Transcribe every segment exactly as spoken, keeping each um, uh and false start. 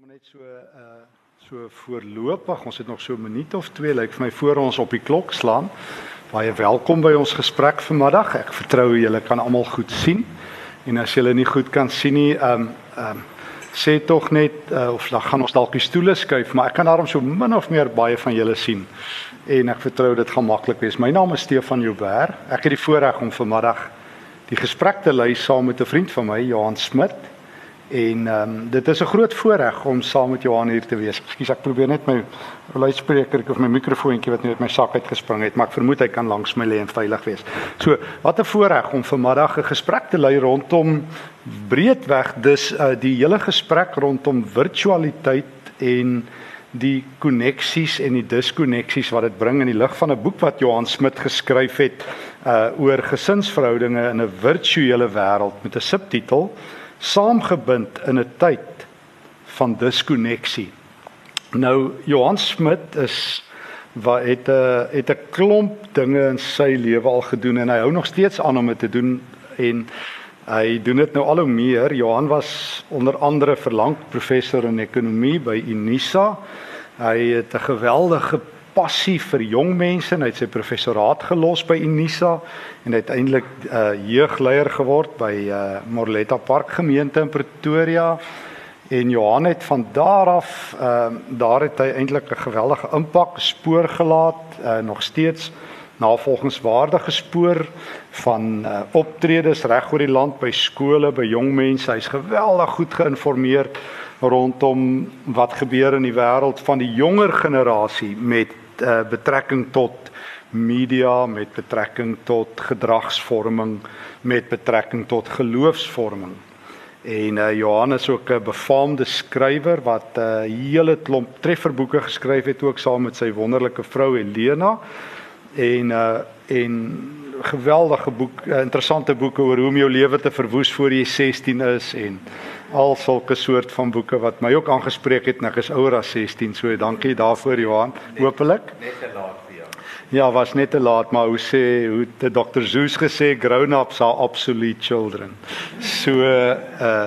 maar net so uh so voorlopig. Ons het nog so 'n minuut of twee, lyk vir my, voor ons op die klok slaan. Baie welkom by ons gesprek vanmiddag. Ek vertrou julle kan almal goed sien. En as julle nie goed kan sien nie, um um sê tog net uh, of dan gaan ons dalk die stoele skuif, maar ek kan daarom so min of meer baie van julle sien. En ek vertrou dit gaan maklik wees. My naam is Stefan Joubert. Ek het die voorreg om vanmiddag die gesprek te lei saam met 'n vriend van my, Johan Smit. En um, dit is 'n groot voorreg om saam met Johan hier te wees. Ekskuus, ek probeer net my luidspreker of my mikrofoontjie wat net uit my sak uitgespring het, maar ek vermoed hy kan langs my lê en veilig wees. So, wat 'n voorreg om vanmiddag 'n gesprek te lei rondom breedweg dus uh, die hele gesprek rondom virtualiteit en die koneksies en die diskoneksies wat dit bring in die lig van 'n boek wat Johan Smit geskryf het uh, oor gesinsverhoudinge in 'n virtuele wêreld met 'n subtitel Saamgebind in 'n tyd van diskonneksie. Nou, Johan Smit is wat het 'n het 'n klomp dinge in sy lewe al gedoen en hy hou nog steeds aan om dit te doen en hy doen dit nou al hoe meer. Johan was onder andere verlang professor in ekonomie by Unisa. Hy het 'n geweldige passie vir jong mense en hy het sy professoraat gelos by Unisa en uiteindelik uh, jeugleier geword by uh, Morletta Park gemeente in Pretoria. En Johan het van daar af, uh, daar het hy eintlik 'n geweldige impak, spoor gelaat, uh, nog steeds navolgingswaardige spoor van uh, optredes reg oor die land by skole, by jong mense. Hy's geweldig goed geïnformeer rondom wat gebeur in die wêreld van die jonger generasie met uh, betrekking tot media, met betrekking tot gedragsvorming, met betrekking tot geloofsvorming. En uh, Johan is ook 'n befaamde skrywer wat 'n uh, hele klomp trefferboeke geskryf het, ook saam met sy wonderlike vrou Helena. En uh, en geweldige boek, uh, interessante boeke oor hoe om jou lewe te verwoes voor jy sestien is en al sulke soort van boeke wat my ook aangespreek het en ek is ouer as sestien, so dankie daarvoor Johan, hopelik. Net te laat vir jou. Ja, was net te laat, maar hoe sê, hoe het dokter Zeus gesê, grown-ups are obsolete children. So, uh,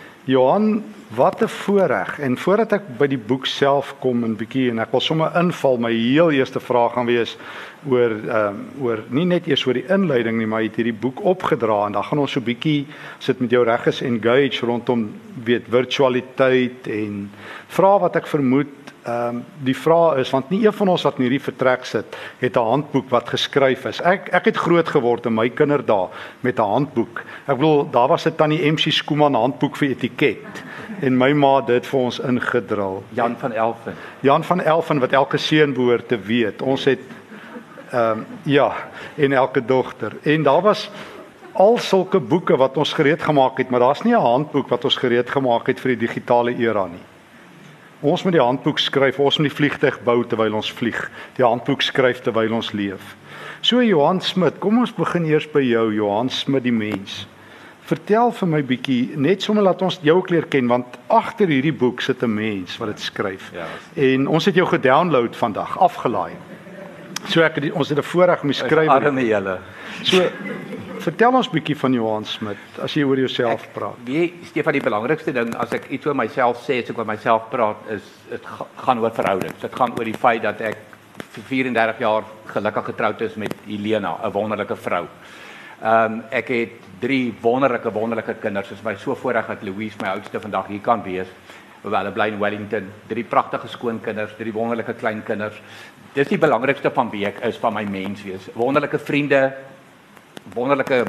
Johan, wat 'n voorreg. En voordat ek by die boek self kom 'n bietjie en ek wil sommer inval, my heel eerste vraag gaan wees oor um, oor nie net eers oor die inleiding nie, maar jy het hierdie boek opgedra en dan gaan ons so 'n bietjie sit met jou reg is engage rondom weet virtualiteit en vra wat ek vermoed um, die vraag is, want nie een van ons wat in hierdie vertrek sit het 'n handboek wat geskryf is. Ek ek het groot geword in my kinderdae met 'n handboek. Ek bedoel daar was 'n tannie M C Skooman handboek vir etiket. En my ma het dit vir ons ingedrul. Jan van Elfen. Jan van Elfen wat elke seun behoort te weet. Ons het ehm um, ja, en elke dogter. En daar was al sulke boeke wat ons gereed gemaak het, maar daar's nie 'n handboek wat ons gereed gemaak het vir die digitale era nie. Ons moet die handboek skryf, ons moet die vliegtuig bou terwyl ons vlieg. Die handboek skryf terwyl ons leef. So Johan Smit, kom ons begin eers by jou, Johan Smit die mens. Vertel vir my bietjie, net sommer laat ons jou ook leer ken, want agter hierdie boek sit 'n mens wat dit skryf. Ja. En ons het jou gedownload vandag, afgelaai. So ek het, ons het 'n voorreg om die skrywer. Arme julle. So vertel ons bietjie van Johan Smit as jy oor jouself praat. Wie Stefan, die belangrikste ding as ek iets oor myself sê, as ek oor myself praat, is dit gaan oor verhoudings. Dit gaan oor die feit dat ek vir vyf-en-dertig jaar gelukkig getroud is met Helena, 'n wonderlike vrou. Ehm um, ek het drie wonderlike wonderlike kinders. Dit is my so voorreg dat Louise, my oudste, vandag hier kan wees. Hoewel hulle bly in Wellington. Drie pragtige skoonkinders, drie wonderlike kleinkinders. Dis die belangrikste van wie ek is, van my mens wees. Wonderlike vriende, wonderlike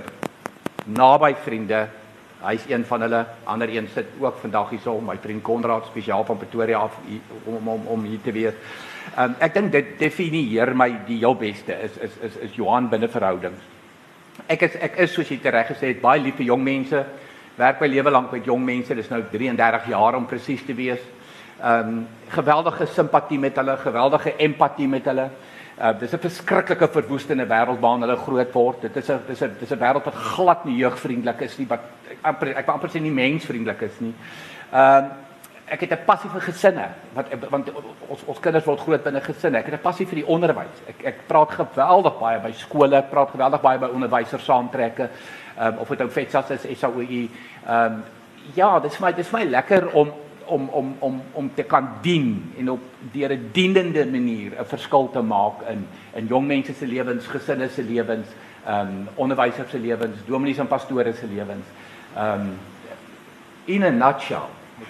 naby vriende. Hy's een van hulle. Ander een sit ook vandag hier so, my vriend Konrad spesiaal van Pretoria af om om om hier te wees. Ehm um, ek dink dit definieer my die heel beste is is is is Johan binne verhoudings. Ek is ek is soos jy reg gesê het baie lief vir jong mense. Werk my lewe lank met jong mense. Dis nou drieëndertig jaar om presies te wees. Ehm um, geweldige simpatie met hulle, geweldige empatie met hulle. Uh, dis 'n verskriklike verwoestende wêreld waarin hulle groot word. Dit is 'n dis 'n dis 'n wêreld wat glad nie jeugvriendelik is nie, wat ek amper ek wil amper sê nie mensvriendelik is nie. Ehm uh, ek het 'n passie vir gesinne, want want ons ons kinders word groot binne gesinne. Ek het 'n passie vir die onderwys. Ek ek praat geweldig baie by skole, ek praat geweldig baie by onderwysers saamtrekke. Ehm um, of dit ou FETSAS is, S A O I. Ehm um, ja, dis vir my dis vir my lekker om om om om om te kan dien en op deur 'n dienende manier 'n verskil te maak in in jong mense se lewens, gesinne se lewens, ehm um, onderwysers se lewens, dominees en pastore se lewens. Ehm um, in a nutshell.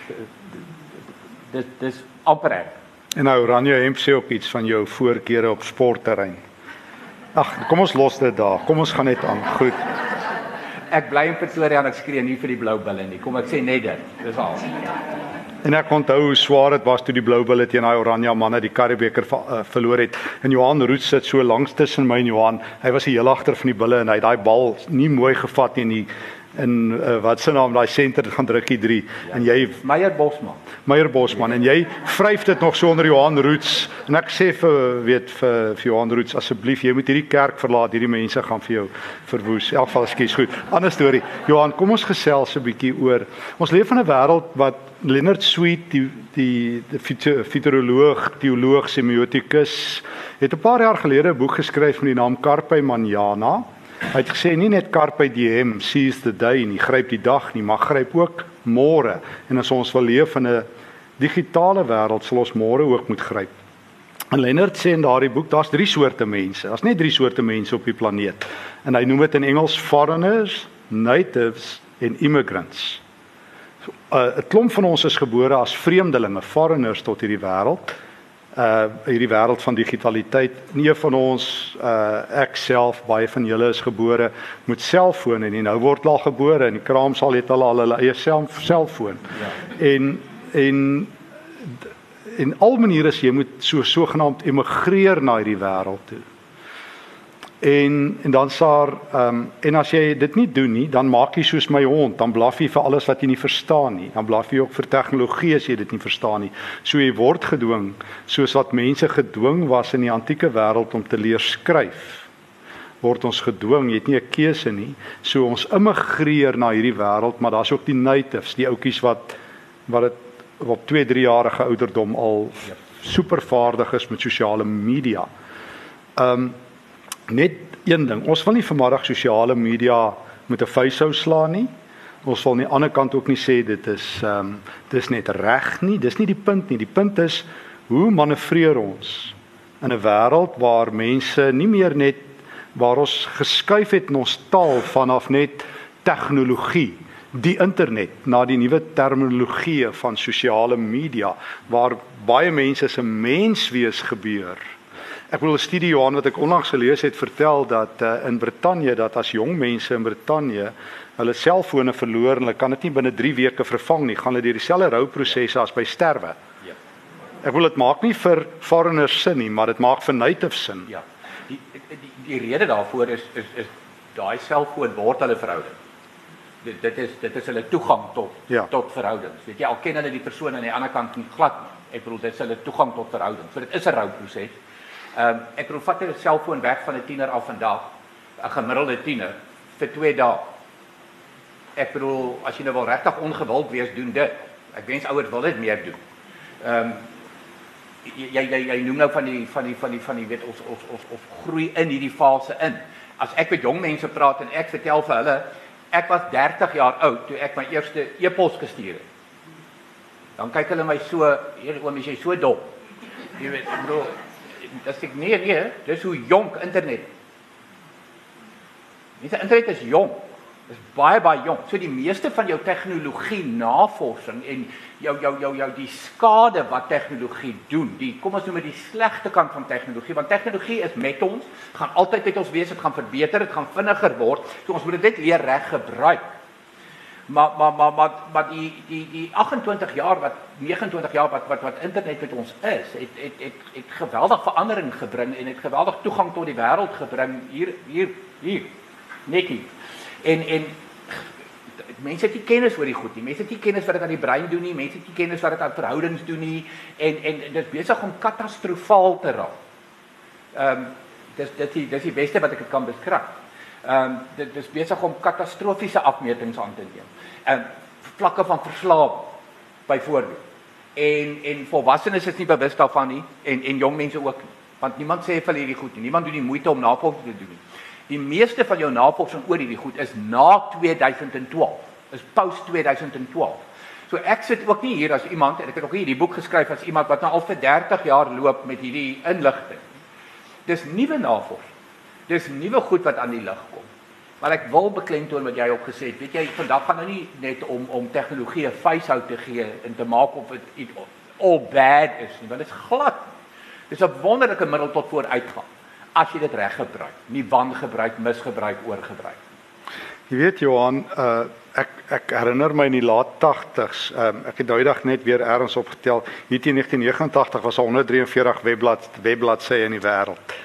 Dit dis amper ek. En nou Oranje hemp sê ook iets van jou voorkeure op sportterrein. Ag, kom ons los dit daar. Kom ons gaan net aan. Goed. Ek bly in Pretoria en ek skree nie vir die blou bulle nie. Kom ek sê net dit. Dis al. En ek onthou hoe swaar dit was toe die blou bulle teen daai Oranje manne die Karibebeker uh, verloor het. En Johan Roux sit so langs tussen my en Johan. Hy was die heel agter van die bulle en hy het daai bal nie mooi gevat nie in die in uh, wat se naam daai senter gaan drukkie drie ja. En jy Meyer Bosman. Meyer Bosman en jy vryf dit nog so onder Johan Roux en ek sê vir weet vir, vir Johan Roux asseblief jy moet hierdie kerk verlaat, hierdie mense gaan vir jou verwoes. In elk geval skies goed. Ander storie. Johan, kom ons gesels 'n bietjie oor. Ons leef in 'n wêreld wat Leonard Sweet die die, die futuroloog, teoloog, semiotikus het 'n paar jaar gelede 'n boek geskryf met die naam Carpe Manana. Hy het gesê nie net Carpe Diem, seize the day nie, gryp die dag nie, maar gryp ook môre. En as ons wil leef in 'n digitale wêreld, sal ons môre ook moet gryp. En Leonard sê in daardie boek, daar's drie soorte mense. Daar's net drie soorte mense op die planeet. En hy noem dit in Engels foreigners, natives en immigrants. So, uh, 'n klomp van ons is gebore as vreemdelinge, foreigners tot hierdie wêreld. Uh hierdie wêreld van digitaliteit. Nie van ons uh ek self, baie van julle is gebore met selfone en nou word al gebore en die kraamsaal het hulle al hulle eie self, selfoon. Ja. En en en al maniere is jy moet so sogenaamd emigreer na hierdie wêreld toe. En en dan saar ehm um, en as jy dit nie doen nie, dan maak jy soos my hond, dan blaf jy vir alles wat jy nie verstaan nie. Dan blaf jy ook vir tegnologie as jy dit nie verstaan nie. So jy word gedwing, soos wat mense gedwing was in die antieke wêreld om te leer skryf. Word ons gedwing, jy het nie 'n keuse nie. So ons immigreer na hierdie wêreld, maar daar's ook die natives, die ouetjies wat wat dit op twee, drie jarige ouderdom al ja. supervaardig is met sosiale media. Ehm um, Net een ding, ons wil nie vanmiddag sosiale media met 'n vuishou slaan nie. Ons wil aan die ander kant ook nie sê dit is ehm um, dis net reg nie. Dis nie die punt nie. Die punt is hoe manoeuvreer ons in 'n wêreld waar mense nie meer net waar ons geskuif het in ons taal vanaf net tegnologie, die internet na die nuwe terminologie van sosiale media waar baie mense se menswees gebeur. Ek wil 'n studie Johan wat ek onlangs gelees het vertel dat uh, in Brittanje dat as jong mense in Brittanje hulle selfone verloor en hulle kan dit nie binne drie weke vervang nie, gaan hulle deur dieselfde rouprosesse as by sterwe. Ja. Ek wil dit maak nie vir foreigners sin nie, maar dit maak vir natives sin. Ja. Die die die rede daarvoor is is is daai selfoon word hulle verhouding. Dit dit is dit is hulle toegang tot ja. tot verhoudings. Weet jy, al ken hulle die persoon aan die ander kant nie glad nie. Ek bedoel dit is hulle toegang tot verhoudings. So dit is 'n rouproses. Ehm um, ek bedoel vat 'n selfoon weg van 'n tiener af vandag, 'n gemiddelde tiener vir twee dae. Ek bedoel as jy nou wel regtig ongewild wees, doen dit. Ek wens ouers wil dit meer doen. Ehm um, jy jy jy noem nou van die van die van die van die weet ons ons ons of groei in hierdie fase in. As ek met jong mense praat en ek vertel vir hulle ek was dertig jaar oud toe ek my eerste e-pos gestuur het. Dan kyk hulle my so, hier oom is jy so dom. Jy weet, ek bedoel dis ek nee nee, dis hoe jonk internet. Die internet is jonk. Dis baie baie jonk. So die meeste van jou tegnologie navorsing en jou jou jou jou die skade wat tegnologie doen. Die kom ons noem dit die slegte kant van tegnologie, want tegnologie is met ons, gaan altyd met ons wees, dit gaan verbeter, dit gaan vinniger word. So ons moet dit net leer reg gebruik. Maar maar maar maar maar die die die agt-en-twintig jaar wat nege en twintig jaar wat wat wat internet met ons is, het het het het geweldig verandering gebring en het geweldig toegang tot die wêreld gebring hier hier hier net hier. En en mense het nie kennis oor die goed nie. Mense het nie kennis wat dit aan die brein doen nie. Mense het nie kennis wat dit aan verhoudings doen nie en en dit is besig om katastrofaal te raak. Ehm um, dis dit is dis die beste wat ek dit kan beskryf. Ehm um, dit is besig om katastrofiese afmetings aan te neem. Ehm um, vlakke van verslawing byvoorbeeld. En en volwassenes is nie bewus daarvan nie en en jong mense ook nie. Want niemand sê vir hierdie goed nie. Niemand doen die moeite om navorsing te doen nie. Die meeste van jou navorsing oor hierdie goed is na twee duisend twaalf. Is post twee duisend twaalf. So ek sit ook nie hier as iemand, en ek het ook hier die boek geskryf as iemand wat nou al vir dertig jaar loop met hierdie inligting. Dis nuwe navorsing. Dis nuwe goed wat aan die lig kom. Maar ek wil beklemtoon wat jy ook gesê het. Weet jy, vandag gaan nou nie net om om tegnologie 'n facehou te gee en te maak of dit all bad is nie, want dit is glad. Dis 'n wonderlike middel tot vooruitgang as jy dit reg gebruik, nie wangebruik, misgebruik, oorgebruik. Jy weet Johan, uh, ek ek herinner my in die laat tagtigs, um, ek het daai dag net weer ergens opgetel, hier teen negentien negenentagtig was daar honderd drieënveertig webblad webbladsye in die wêreld.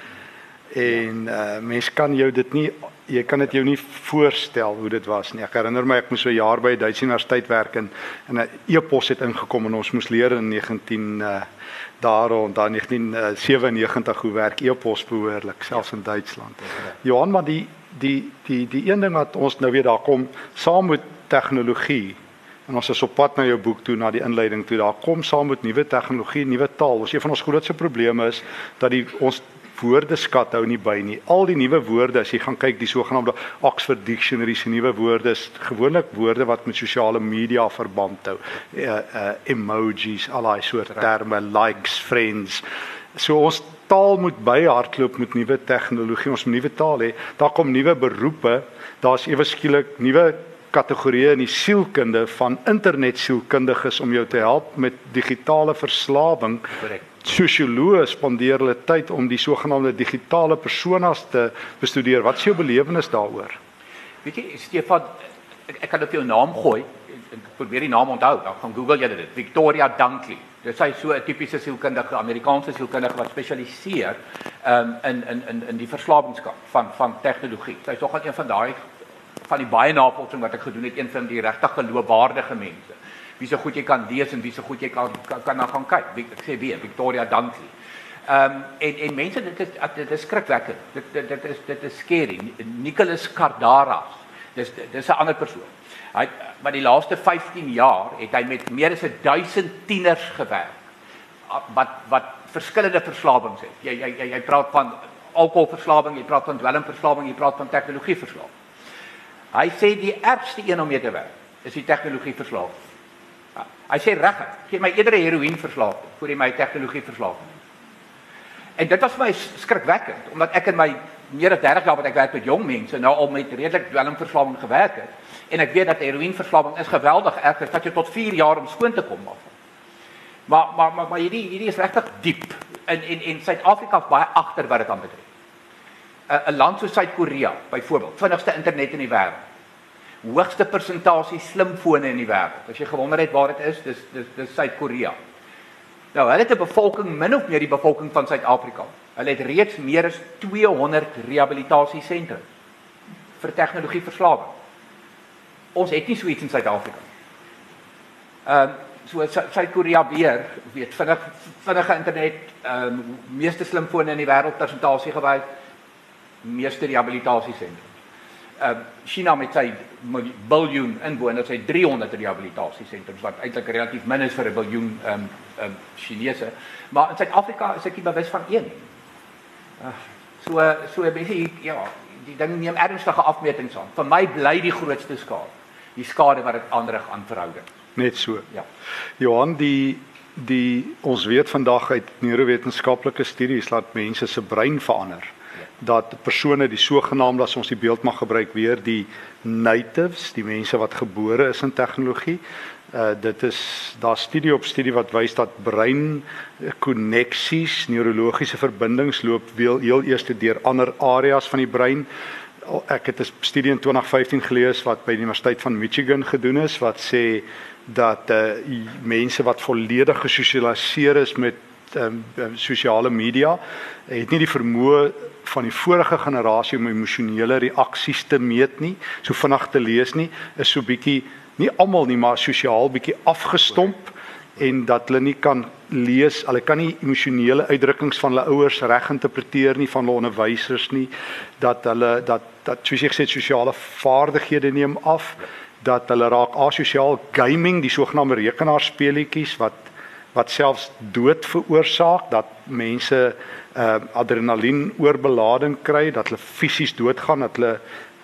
En uh, mens kan jou dit nie, jy kan dit jou nie voorstel hoe dit was nie. Ek herinner my ek moes so 'n jaar by 'n Duitse universiteit werk en 'n e-pos het ingekom en ons moes leer in negentien uh, daar rond dan negentien sewennegentig hoe werk e-pos behoorlik, selfs in Duitsland. Johan, maar die die die die een ding wat ons nou weer daar kom saam met tegnologie. En ons is op pad na jou boek toe, na die inleiding toe. Daar kom saam met nuwe tegnologie, nuwe taal. Ons een van ons grootste probleme is dat die ons woordeskat hou nie by nie. Al die nuwe woorde, as jy gaan kyk, die sogenaamde Oxford Dictionary se nuwe woorde is gewoonlik woorde wat met sosiale media verband hou. Uh, uh, emojis, al daai soort terme, likes, friends. So ons taal moet byhardloop met nuwe tegnologie, ons moet nuwe taal hê. Daar kom nuwe beroepe, daar's ewe skielik nuwe kategorieë in die sielkunde van internet sielkundiges om jou te help met digitale verslawing. Correct. Sosioloë spandeer hulle tyd om die sogenaamde digitale personas te bestudeer. Wat is jou belewenis daaroor? Weet jy, Stefan, ek, ek kan op jou naam gooi, ek probeer die naam onthou, dan gaan Google jy dit, Victoria Dunkley. Dit is so 'n tipiese sielkundige, Amerikaanse sielkundige wat spesialiseer um, in, in, in, in die verslawingskant van, van tegnologie. Sy is nogal een van daai, van die baie navorsing wat ek gedoen het, een van die regtig geloofwaardige mense. Wie so goed jy kan lees en wie so goed jy kan kan, kan na gaan kyk. Ek sê weer Victoria Dunkley. Ehm um, en en mense dit is dit is skrikwekkend. Dit dit dit is dit is scary. Nicholas Kardaras. Dis dis 'n ander persoon. Hy maar die laaste vyftien jaar het hy met meer as duisend tieners gewerk wat wat verskillende verslawings het. Jy jy jy praat van alkoholverslawing, jy praat van dwelmverslawing, jy praat van tegnologieverslawing. Hy sê die ergste een om mee te werk is die tegnologieverslawing. Hy sê regtig, gee my eerder 'n heroïneverslawing voor jy my tegnologieverslawing. En dit was vir my skrikwekkend, omdat ek in my meer as dertig jaar wat ek werk met jong mense nou al met redelik dwelmverslawing gewerk het. En ek weet dat heroïneverslawing is geweldig erg, dit vat jou tot vier jaar om skoon te kom af. Maar maar maar, maar hierdie hierdie is regtig diep. En en en Suid-Afrika is baie agter wat dit aanbetref. 'n 'n land soos Suid-Korea byvoorbeeld, vinnigste internet in die wêreld. Hoogste persentasie slimfone in die wêreld. As jy gewonder het waar dit is, dis dis dis Suid-Korea. Nou, hulle het 'n bevolking min of meer die bevolking van Suid-Afrika. Hulle het reeds meer as tweehonderd rehabilitasiesentrums vir tegnologieverslawing. Ons het nie so iets in Suid-Afrika. Ehm um, so Suid-Korea weer, weet vinnig vinnige internet, ehm um, meeste slimfone in die wêreld persentasie gewys, meeste rehabilitasiesentrums. Uh, China met sy biljoen inwoners het driehonderd rehabilitasiesentrums wat eintlik relatief min is vir 'n biljoen um, um, Chinese, maar in Suid-Afrika is ek nie bewus van een. Uh, so so mense ja, die ding neem ernstige afmetings aan. Vir my bly die grootste skade, die skade wat dit aanrig aan verhoudings. Net so. Ja. Johan, die die ons weet vandag uit neurowetenskaplike studies dat mense se brein verander. Dat persone die sogenaamde, as ons die beeld mag gebruik weer, die natives, die mense wat gebore is in tegnologie, uh, dit is, daar studie op studie wat wys dat brein konneksies, neurologiese verbindings loop heel, heel eers deur ander areas van die brein. Ek het 'n studie in twintig vyftien gelees wat by die Universiteit van Michigan gedoen is, wat sê dat uh, mense wat volledig gesosialiseer is met um, sosiale media, het nie die vermoë van die vorige generasie om emosionele reaksies te meet nie, so vinnig te lees nie, is so bietjie, nie almal nie, maar sosiaal bietjie afgestomp, en dat hulle nie kan lees, hulle kan nie emosionele uitdrukkings van hulle ouers reg interpreteer nie, van hulle onderwysers nie, dat hulle, dat, dat soos jy gesê, sosiale vaardighede neem af, dat hulle raak asosiaal, gaming, die sogenaamde rekenaarspeletjies, wat wat selfs dood veroorsaak, dat mense uh, adrenalien oorbelading kry, dat hulle fisies doodgaan, dat hulle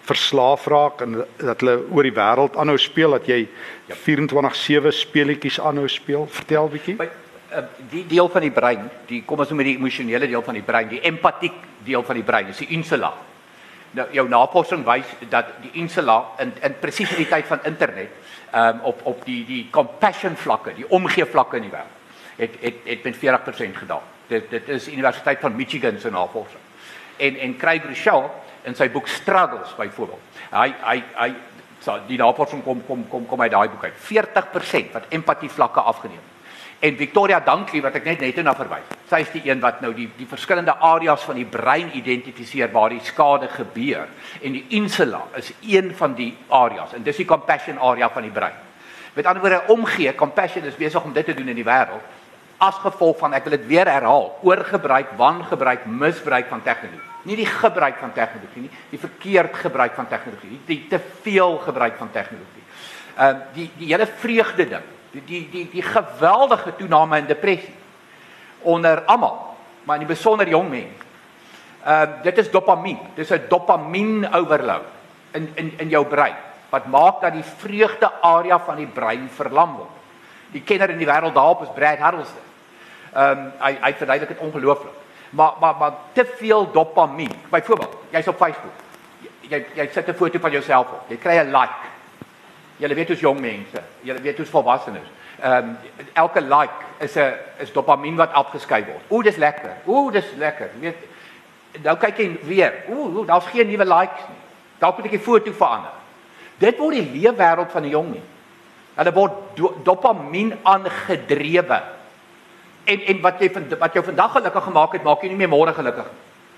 verslaaf raak en dat hulle oor die wêreld aanhou speel, dat jy vierentwintig sewe speletjies aanhou speel. Vertel bietjie. By, uh, die deel van die brein, die kom ons noem met die emosionele deel van die brein, die empatiek deel van die brein, is die insula. Nou, jou navorsing wys dat die insula in in presies in die tyd van internet, um, op op die die compassion vlakke, die omgee vlakke in die wêreld, het het het met veertig persent gedaal. Dit dit is Universiteit van Michigan se navorsing. En en Craig Rochelle in sy boek Struggles byvoorbeeld. Hy hy hy so die navorsing kom kom kom kom uit daai boek uit. veertig persent wat empatie vlakke afgeneem. En Victoria Dunkley wat ek net net na verwys. Sy is die een wat nou die die verskillende areas van die brein identifiseer waar die skade gebeur. En die insula is een van die areas en dis die compassion area van die brein. Met ander woorde, omgee, compassion is besig om dit te doen in die wêreld as gevolg van, ek wil dit weer herhaal, oorgebruik, wangebruik, misbruik van tegnologie. Nie die gebruik van tegnologie nie, die verkeerd gebruik van tegnologie, nie, die te veel gebruik van tegnologie. Uh, die die hele vreugde ding, die die die die geweldige toename in depressie onder almal, maar in die besonder jong mense. Uh, dit is dopamien, dis 'n dopamien overload in in in jou brein wat maak dat die vreugde area van die brein verlam word. Die kenner in die wêreld daarop is Brad Harrelson. Ehm um, hy hy verduidelik dit ongelooflik. Maar maar maar te veel dopamien. Byvoorbeeld, jy's op Facebook. Jy jy sit 'n foto van jouself op. Jy kry 'n like. Julle weet hoe's jong mense. Julle weet hoe's volwassenes. Ehm um, elke like is 'n is dopamien wat afgeskei word. Ooh, dis lekker. Ooh, dis lekker. Jy weet, nou kyk jy weer. Ooh, ooh daar's geen nuwe likes nie. Dalk moet ek die foto verander. Dit word die leefwêreld van die jong mense. Hulle word do, dopamien aangedrewe. En en wat jy wat jou vandag gelukkig gemaak het, maak jy nie meer môre gelukkig.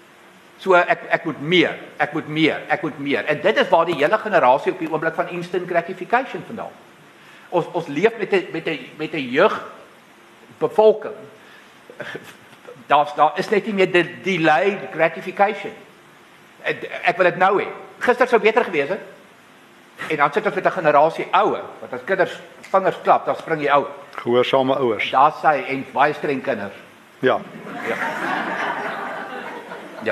So ek ek moet meer, ek moet meer, ek moet meer. En dit is waar die hele generasie op die oomblik van instant gratification vandaan. Ons ons leef met 'n met 'n met 'n jeug bevolking. Daar's daar is net nie meer die delayed gratification. Ek, ek wil dit nou hê. Gister sou beter gewees het. En dan sit ons met 'n generasie ouer, wat as kinders vingers klap, dan spring jy ouer. Gehoorsame ouers. Daar sê en baie streng kinders. Ja. Ja. Ja.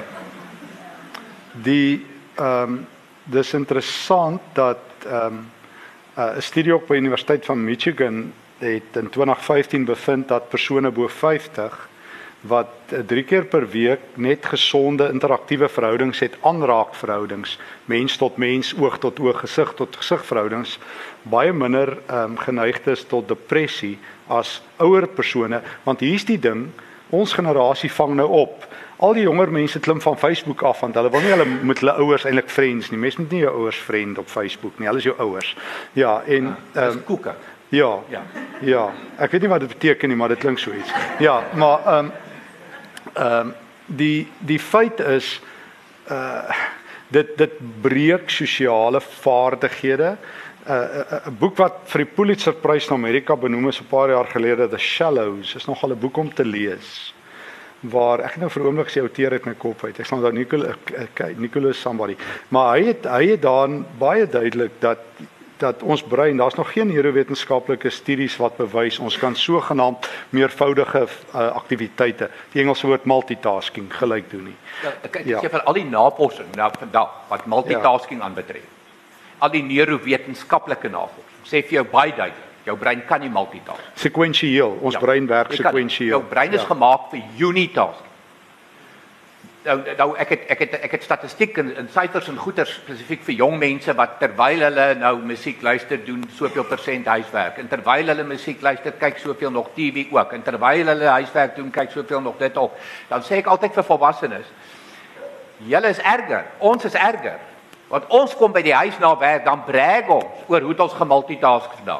Die ehm um, dis interessant dat ehm um, 'n uh, studie op by Universiteit van Michigan het in twintig vyftien bevind dat persone bo vyftig wat uh, drie keer per week net gesonde interaktiewe verhoudings het, aanraakverhoudings, mens tot mens, oog tot oog, gesig tot gesig verhoudings, baie minder ehm um, geneig is tot depressie as ouer persone, want hier's die ding, ons generasie vang nou op. Al die jonger mense klim van Facebook af want hulle wil nie hulle met hulle ouers eintlik friends nie. Mense moet nie jou ouers vriend op Facebook nie. Hulle is jou ouers. Ja, en ehm um, koeke. Ja. Ja. Ja. Ek weet nie wat dit beteken nie, maar dit klink so iets. Ja, maar ehm um, ehm um, die die feit is uh dit dit breek sosiale vaardighede. 'n uh, 'n boek wat vir die Pulitzerprys in Amerika benoem is 'n paar jaar gelede, The Shallows, is nogal 'n boek om te lees. Waar ek nou vir 'n oomblik sê outeer uit my kop uit. Ek sal onthou Nicholas Nicholas somebody. Maar hy het hy het dan baie duidelik dat dat ons brein, daar's nog geen neurowetenskaplike studies wat bewys ons kan sogenaamd meervoudige uh, aktiwiteite, die Engelse woord multitasking, gelyk doen nie. Ja, ek ek ja. sê vir al die navorsing nou vandag wat multitasking ja. aanbetref. Al die neurowetenskaplike navorsing sê vir jou baie duidelik, jou brein kan nie multitask. Sekwensieel, ons ja. brein werk sekwensieel. Jou brein is ja. gemaak vir unitasking. Nou, nou ek het ek het ek het statistiek en, en syfers en goeters spesifiek vir jong mense wat terwyl hulle nou musiek luister doen soveel persent huiswerk en terwyl hulle musiek luister kyk soveel nog T V ook en terwyl hulle huiswerk doen kyk soveel nog dit ook. Dan sê ek altyd vir volwassenes, julle is erger, ons is erger. Want ons kom by die huis na werk, dan brag ons oor hoe ons gemultitask vandag.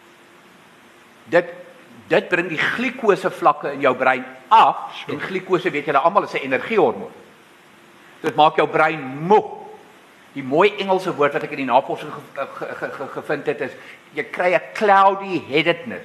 Dit dit bring die glikose vlakke in jou brein af. Sure. En glikose, weet julle almal, is 'n energiehormoon. Dit maak jou brein moeg. Die mooi Engelse woord wat ek in die navorsing ge, ge, ge, ge, gevind het is jy kry 'n cloudy headedness.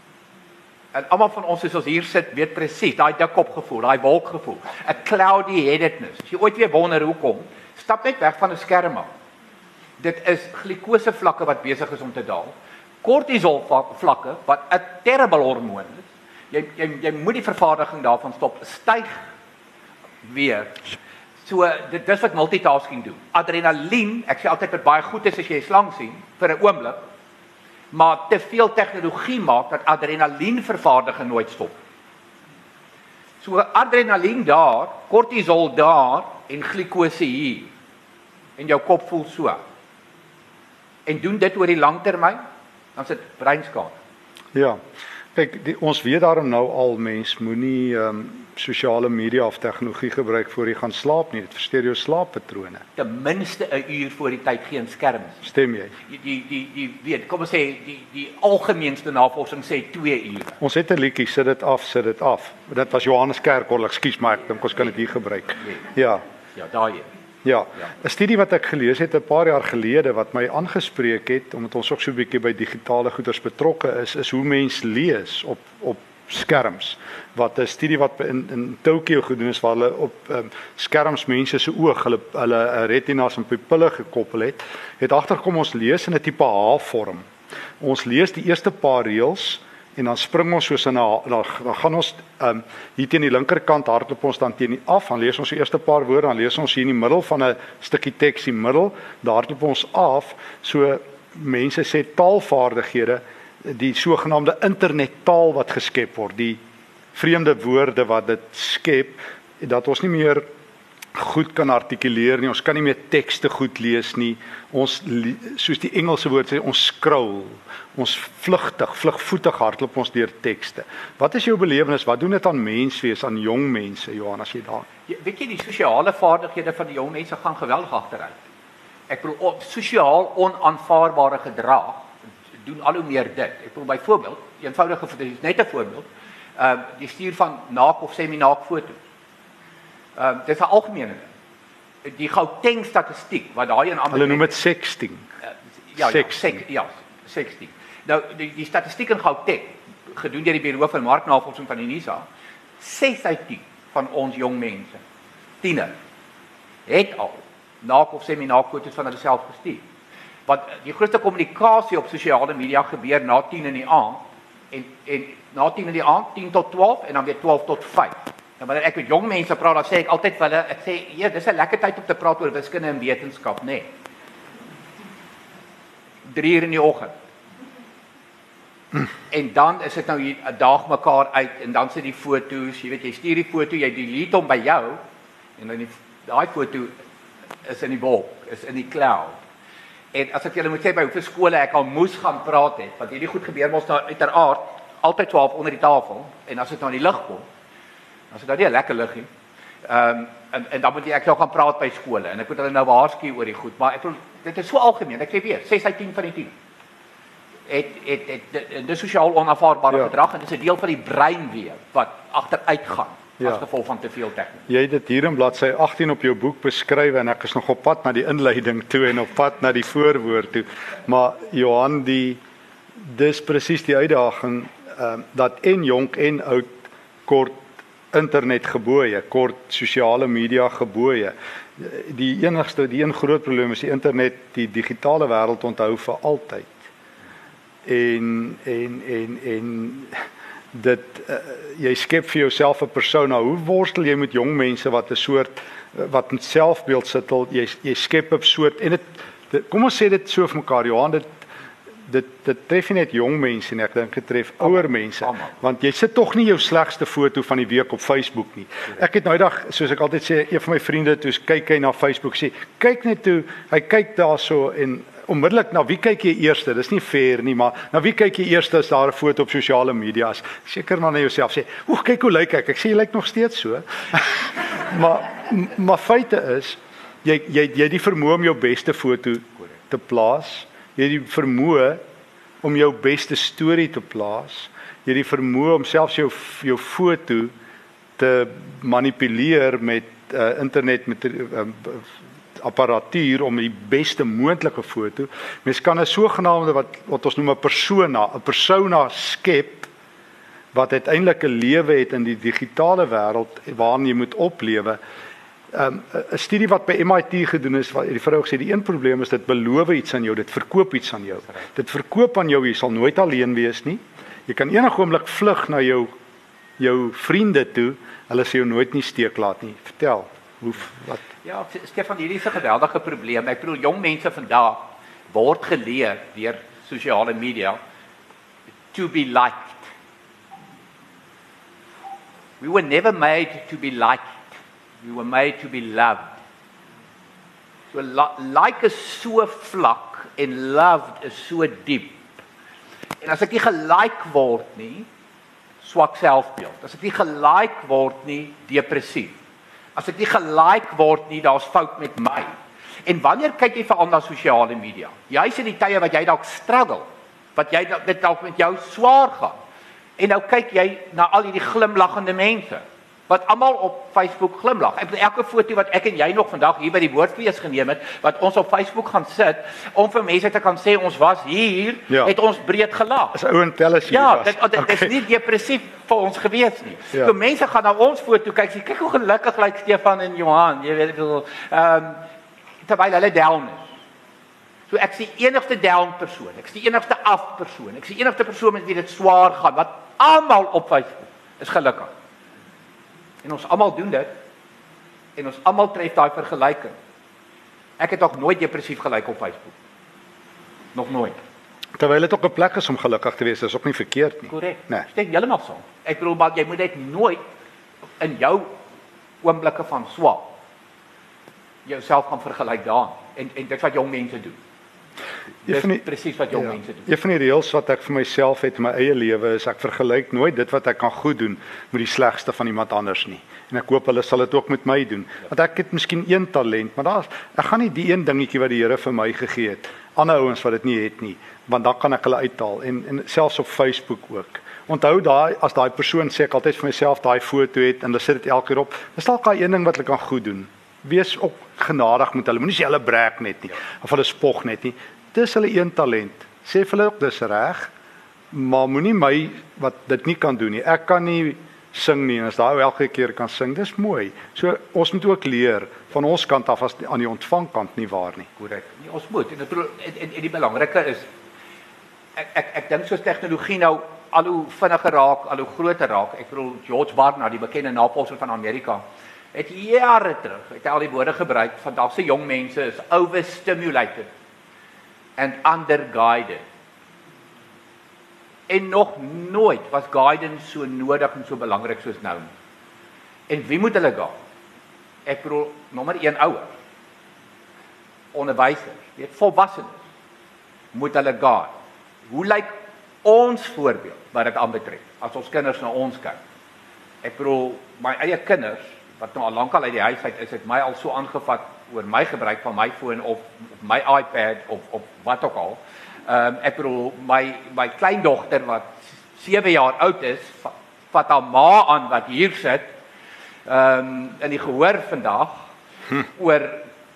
En almal van ons, as ons hier sit, weet presies, daai dikkop gevoel, daai wolk gevoel, 'n cloudy headedness. As jy ooit weer wonder hoekom, stap net weg van 'n skerm af. Dit is glikose vlakke wat besig is om te daal. Kortisol vlakke wat 'n terrible hormoon is. Jy jy jy moet die vervaardiging daarvan stop. Styg weer. So dit dis wat multitasking doen. Adrenalien, ek sê altyd wat baie goed is as jy 'n slang sien vir 'n oomblik, maar te veel tegnologie maak dat adrenalienvervaardiging nooit stop. So adrenalien daar, kortisol daar en glikose hier. En jou kop voel so. En doen dit oor die langtermyn, dan is dit breinskade. Ja. Kyk, die, ons weet daarom nou al mens moenie ehm um, sosiale media of tegnologie gebruik voor jy gaan slaap nie. Dit versteur jou slaappatrone. Ten minste 'n uur voor die tyd geen skerms. Stem jy? Die die die, die weet, kom ons sê die die algemeenste navorsing sê twee ure. Ons het 'n liedjie, sit dit af, sit dit af. Dit was Johannes Kerkorrel, ekskuus maar ek dink ons kan dit hier gebruik. Ja. Ja, daai een. Ja, 'n studie wat ek gelees het 'n paar jaar gelede wat my aangespreek het omdat ons ook so 'n bietjie by digitale goeders betrokke is, is hoe mens lees op op skerms. Wat 'n studie wat in in Tokio gedoen is waar hulle op um, skerms mense se oog, hulle hulle retinas en pupille gekoppel het, het agtergekom ons lees in 'n tipe H-vorm. Ons lees die eerste paar reëls en dan spring ons soos in 'n dan, dan gaan ons um, hier teen die linkerkant hardloop ons dan teen die af, dan lees ons die eerste paar woorde, dan lees ons hier in die middel van 'n stukkie teks in die middel, daar hardloop ons af, so mense sê taalvaardighede, die sogenaamde internettaal wat geskep word, die vreemde woorde wat dit skep, dat ons nie meer goed kan artikuleer nie, ons kan nie meer tekste goed lees nie, ons, soos die Engelse woord sê, ons scroll, ons vlugtig, vlugvoetig hardloop ons deur tekste. Wat is jou belewenis, wat doen dit aan menswees, aan jong mense, Johan, as jy daar? Ja, weet jy, die sosiale vaardighede van die jong mense gaan geweldig agteruit. Ek bedoel, sosiaal onaanvaarbare gedrag, doen al hoe meer dit. Ek bedoel byvoorbeeld, eenvoudige, dit is net 'n voorbeeld, uh, die stuur van naak of semi-naak foto's. Uh, dit is 'n algemene ding. Die Gauteng statistiek wat daai in Hulle noem dit sexting. Uh, ja, sexting. Ja, sek, ja, sexting. Nou die die statistiek in Gauteng, gedoen deur die Buro vir Marknavorsing van die NISA, ses uit tien van ons jong mense, tieners, het al naak of semi-naak foto's van hulle self gestuur. Want die grootste kommunikasie op sosiale media gebeur na tien in die aand en en na tien in die aand, tien tot twaalf en dan weer twaalf tot vyf. Nou wanneer ek met jong mense praat, dan sê ek altyd vir hulle, ek sê, "Ja, dis 'n lekker tyd om te praat oor wiskunde en wetenskap, nê." Nee. drie uur in die oggend. En dan is dit nou hier 'n dag mekaar uit en dan sit die foto's, jy weet jy stuur die foto, jy delete hom by jou en dan die daai foto is in die wolk, is in die cloud. En as ek julle moet sê by hoeveel skole ek al moes gaan praat het, want hierdie goed gebeur mos nou uiteraard altyd twaalf onder die tafel en as dit nou in die lig kom, dan is dit nou nie 'n lekker lig nie. Ehm um, en en dan moet jy ek nou gaan praat by skole en ek moet hulle nou waarsku oor die goed, maar ek bedoel dit is so algemeen. Ek sê weer, ses uit tien van die tien. Het het het dis sosiaal onaanvaarbare ja. gedrag en dit is 'n deel van die brein weer wat agteruit gaan ja. as gevolg van te veel tegnologie. Jy het dit hier in bladsy agttien op jou boek beskryf en ek is nog op pad na die inleiding toe en op pad na die voorwoord toe. Maar Johan, die dis presies die uitdaging ehm um, dat en jonk en oud kort internet gebooie, kort sosiale media gebooie. Die enigste, die een groot probleem is die internet, die digitale wêreld onthou vir altyd. En en en en dit uh, jy skep vir jouself 'n persona. Hoe worstel jy met jong mense wat 'n soort wat met selfbeeld sittel, jy jy skep 'n soort en dit, dit kom ons sê dit so vir mekaar, Johan, dit dit dit tref nie net jong mense nie, ek dink dit tref ouer mense, want jy sit tog nie jou slegste foto van die week op Facebook nie. Ek het nou dag, soos ek altyd sê, een van my vriende toe kyk hy na Facebook sê, kyk net toe, hy kyk daarso en onmiddellik na wie kyk jy eerste? Dis nie fair nie, maar na wie kyk jy eerste as daar 'n foto op sosiale media is? Seker maar na jouself sê, "Oek, kyk hoe lyk ek." Ek sê jy lyk nog steeds so. maar maar feite is jy jy jy het die vermoë om jou beste foto te plaas. Jy het die vermoë om jou beste storie te plaas. Jy het die vermoë om selfs jou jou foto te manipuleer met uh, internet met uh, apparatuur om die beste moontlike foto. Mens kan 'n sogenaamde wat wat ons noem 'n persona, 'n persona skep wat uiteindelik 'n lewe het in die digitale wêreld waarin jy moet oplewe. Um, 'n studie wat by M I T gedoen is, wat die vrou gesê die een probleem is dit beloof iets aan jou, dit verkoop iets aan jou. Dit verkoop aan jou jy sal nooit alleen wees nie. Jy kan enige oomblik vlug na jou jou vriende toe, hulle sal jou nooit nie steek laat nie. Vertel. Hoe wat Ja, Stefan, hierdie is 'n geweldige probleem. Ek bedoel jong mense vandag word geleer deur sosiale media to be liked. We were never made to be liked. We were made to be loved. So like is so vlak en loved is so diep. En as ek nie gelike word nie, swak selfbeeld. As ek nie gelike word nie, depressief. As ek nie gelike word nie, daar's fout met my. En wanneer kyk jy veral na sosiale media? Jy's in die tye wat jy dalk struggle, wat jy dit dalk met jou swaar gaan. En nou kyk jy na al hierdie glimlaggende mense wat almal op Facebook glimlag. Ek bedoel elke foto wat ek en jy nog vandag hier by die woordfees geneem het, wat ons op Facebook gaan sit om vir mense te kan sê ons was hier, ja. Het ons breed gelag. Dis ou en telles hier ja, was. Ja, dit, dit okay. is nie depressief vir ons gewees nie. Ja. So mense gaan na ons foto kyk, sê kyk hoe gelukkig lyk Stefan en Johan, jy weet ek bedoel, ehm um, terwyl hulle down is. So ek is die enigste down persoon, ek is die enigste af persoon, ek is die enigste persoon met wie dit swaar gaan, wat almal op Facebook is gelukkig. En ons almal doen dit, en ons almal tref daai vergelyking. Ek het nog nooit depressief gelyk op Facebook. Nog nooit. Terwyl dit ook 'n plek is om gelukkig te wees, is ook nie verkeerd nie. Korrek. Nee. Steek heeltemal saam. Ek bedoel maar jy moet dit nooit in jou oomblikke van swaar jouself gaan vergelyk daarin. En en dit wat jong mense doen. Dis die, presies wat jong ja, mense doen. Een van die reëls wat ek vir myself het in my eie lewe is ek vergelyk nooit dit wat ek kan goed doen met die slegste van iemand anders nie. En ek hoop hulle sal dit ook met my doen. Ja. Want ek het miskien een talent, maar daar's ek gaan nie die een dingetjie wat die Here vir my gegee het, ander ouens wat dit nie het nie, want dan kan ek hulle uithaal en en selfs op Facebook ook. Onthou daai as daai persoon sê ek altyd vir myself daai foto het en hulle sit dit elke keer op, dis dalk daai een ding wat hulle kan goed doen. Wees ook genadig met hulle. Moenie sê hulle brek net nie of hulle spog net nie. Dis hulle een talent. Sê vir hulle ook dis reg, maar moenie my wat dit nie kan doen nie. Ek kan nie sing nie en as daai elke keer kan sing, dis mooi. So ons moet ook leer van ons kant af as aan die ontvangkant nie waar nie. Korrek. Nee, ons moet en, en, en, en die belangrike is ek ek ek dink soos tegnologie nou al hoe vinniger raak, al hoe groter raak. Ek bedoel George Barnard, die bekende navorser van Amerika, het jare terug het hy al die woorde gebruik, vandag se jong mense is overstimulated and underguided. En nog nooit was guidance so nodig en so belangrik soos nou. En wie moet hulle gaan? Ek bedoel, nommer een ouers, onderwysers, weet volwassenes, moet hulle gaan. Hoe lyk ons voorbeeld wat dit aanbetref, as ons kinders na ons kyk? Ek bedoel, my eie kinders, wat nou al lankal uit die huis uit is, het my al so aangevat oor my gebruik van my foon of, of my iPad of, of wat ook al. Um, ek bedoel, my, my kleindogter wat sewe jaar oud is, vat haar ma aan wat hier sit, um, in die gehoor vandag, hm. oor,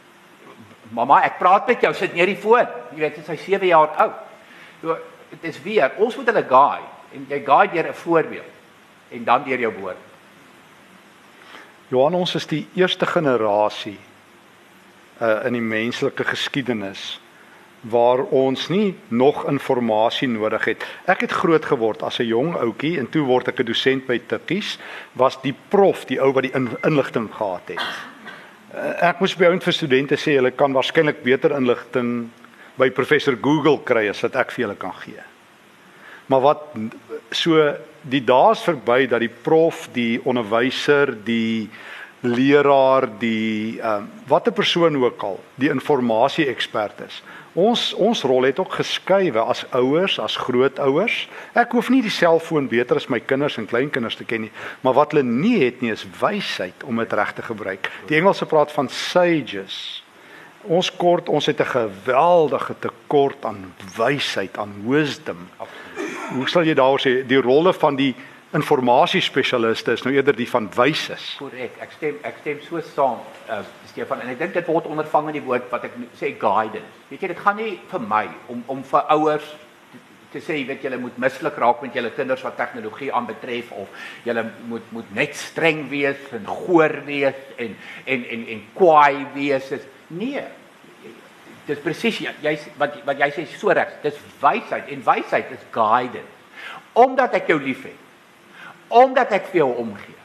mama, ek praat met jou, sit neer die foon, jy weet, sy sewe jaar oud. So, het is weer, ons moet hulle guide, en jy guide deur 'n voorbeeld, en dan deur jou woord. Johan, ons is die eerste generasie uh, in die menslike geskiedenis waar ons nie nog inligting nodig het. Ek het groot geword as 'n jong ouetjie en toe word ek 'n dosent by Tikkies, was die prof die ou wat die in, inligting gehad het. Uh, ek moes by ouend vir studente sê hulle kan waarskynlik beter inligting by professor Google kry as wat ek vir julle kan gee. Maar wat so die dae is verby dat die prof, die onderwyser, die leraar, die um, wat 'n persoon ook al, die informasie-ekspert is. Ons ons rol het ook geskuiwe as ouers, as grootouers. Ek hoef nie die selfoon beter as my kinders en kleinkinders te ken nie, maar wat hulle nie het nie is wysheid om dit reg te gebruik. Die Engelse praat van sages. Ons kort, ons het 'n geweldige tekort aan wysheid, aan wisdom. Hoe sal jy daaroor sê, die rolle van die informasiespesialiste is nou eerder die van wyses. Korrek, ek stem ek stem so saam, uh, Stefan, en ek dink dit word ondervang in die woord wat ek sê guidance. Weet jy, dit gaan nie vir my om om vir ouers te, te sê, jy weet julle moet mislik raak met julle kinders wat tegnologie aanbetref of julle moet moet net streng wees en goor wees en en en en kwaai wees. Is, nee. Dis presies jy wat wat jy sê so reg. Dis wysheid en wysheid is guidance. Omdat ek jou liefhet. Omdat ek vir jou omgee.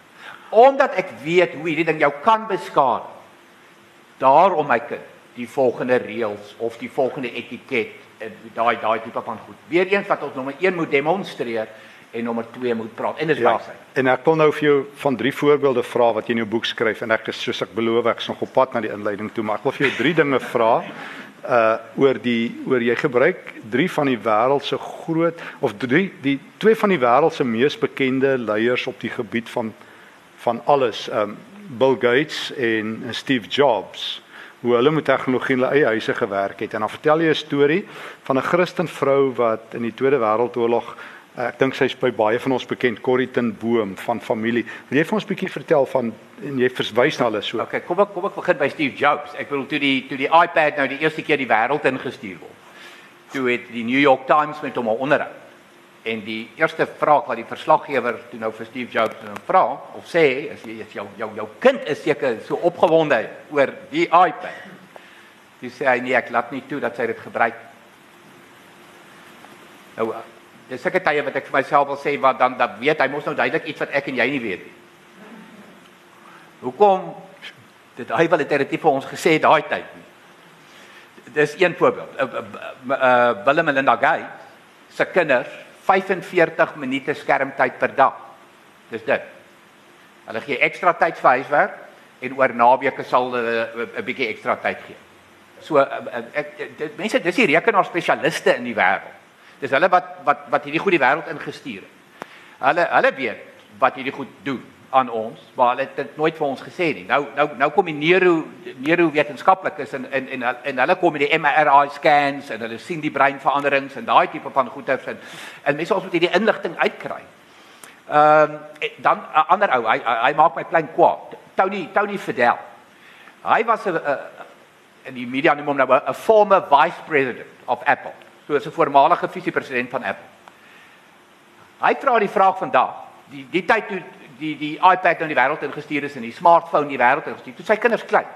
Omdat ek weet hoe hierdie ding jou kan beskadig. Daarom my kind, die volgende reëls of die volgende etiket, daai daai tipe van goed. Weereens wat ons nommer een moet demonstreer en nommer twee moet praat. En dis Ja, wysheid. en ek wil nou vir jou van drie voorbeelde vra wat jy in jou boek skryf en ek is soos ek beloof ek's nog op pad na die inleiding toe, maar ek wil vir jou drie dinge vra uh oor die oor jy gebruik drie van die wêreld se groot of drie die twee van die wêreld se mees bekende leiers op die gebied van van alles, um Bill Gates en Steve Jobs, hoe hulle met tegnologie in hulle eie huise gewerk het. En dan vertel jy 'n storie van 'n Christen vrou wat in die Tweede Wêreldoorlog, ek dink sy's by baie van ons bekend, Corrie ten Boom van familie. Wil jy vir ons 'n bietjie vertel van en jy verwys na hulle so? Okay, kom ek kom ek begin by Steve Jobs. Ek bedoel toe die toe die iPad nou die eerste keer die wêreld ingestuur word. Toe het die New York Times met hom 'n onderhoud. En die eerste vraag wat die verslaggewer toe nou vir Steve Jobs nou vra of sê is jy is jou jou jou kind is seker so opgewonde oor die iPad. Dis sê hy nee, ek laat nie toe dat sy dit gebruik. Nou dis seker tye wat ek vir myself wil sê wat dan dan weet hy mos nou duidelik iets wat ek en jy nie weet nie. Hoekom dit hy wel dit het vir ons gesê daai tyd nie. Dis een voorbeeld. Uh, uh, uh, Bill en Melinda Gates se kinders vyf-en-veertig minute skermtyd per dag. Dis dit. Hulle gee ekstra tyd vir huiswerk en oor naweke sal hulle 'n bietjie ekstra tyd gee. So ek dit, mense dis die rekenaarspesialiste in die wêreld. Dis hulle wat wat wat hierdie goeie wêreld ingestuur het. Hulle hulle weet wat hierdie goed doen aan ons, maar hulle het dit nooit vir ons gesê nie. Nou nou nou kom die neuro neurowetenskaplikes en en en en hulle kom met die M R I scans en hulle sien die breinveranderings en daai tipe van goeters en en mense ons moet hierdie inligting uitkry. Ehm um, dan 'n ander ou, hy hy maak my klein kwaad. Tony Tony Fadell. Hy was 'n in die media noem hom nou 'n former vice president of Apple. So is 'n voormalige visiepresident van Apple. Hy vra die vraag vandag, die die tyd toe die die iPad in die wêreld ingestuur is en die smartphone in die wêreld ingestuur, toe sy kinders klein.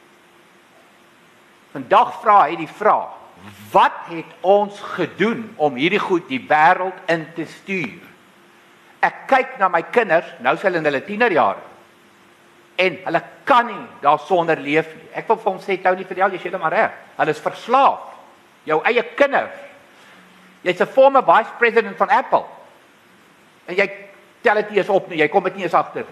Vandag vra hy die vraag, wat het ons gedoen om hierdie goed die wêreld in te stuur? Ek kyk na my kinders, nou is hulle in hulle tienerjare. En hulle kan nie daarsonder leef nie. Ek wil vir hom sê, Tony Fadell, jy sê dit maar reg. Hulle is verslaaf. Jou eie kinders. Jy's 'n former vice president van Apple. En jy tel dit nie eens op nie, jy kom dit nie eens agter.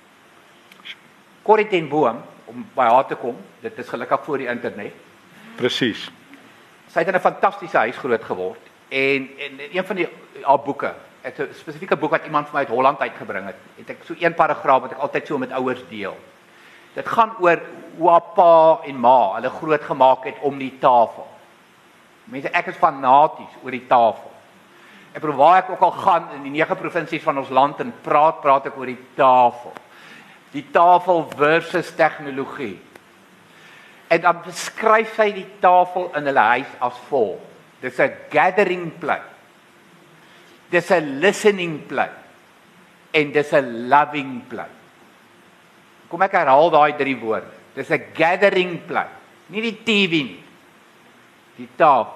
Corrie ten Boom, om by haar te kom, dit is gelukkig voor die internet. Presies. Sy het in 'n fantastiese huis groot geword en en een van die haar boeke, het 'n spesifieke boek wat iemand vir my uit Holland uitgebring het. Het ek so een paragraaf wat ek altyd so met ouers deel. Dit gaan oor hoe haar pa en ma hulle groot gemaak het om die tafel. Mense, ek is fanaties oor die tafel. Ek bedoel waar ek ook al gaan in die nege provinsies van ons land en praat, praat ek oor die tafel. Die tafel versus tegnologie. En dan beskryf hy die tafel in hulle huis as volg. Dis 'n gathering place. Dis 'n listening place. En dis 'n loving place. Kom ek herhaal daai drie woorde. Dis 'n gathering place. Nie die T V nie. Die tafel.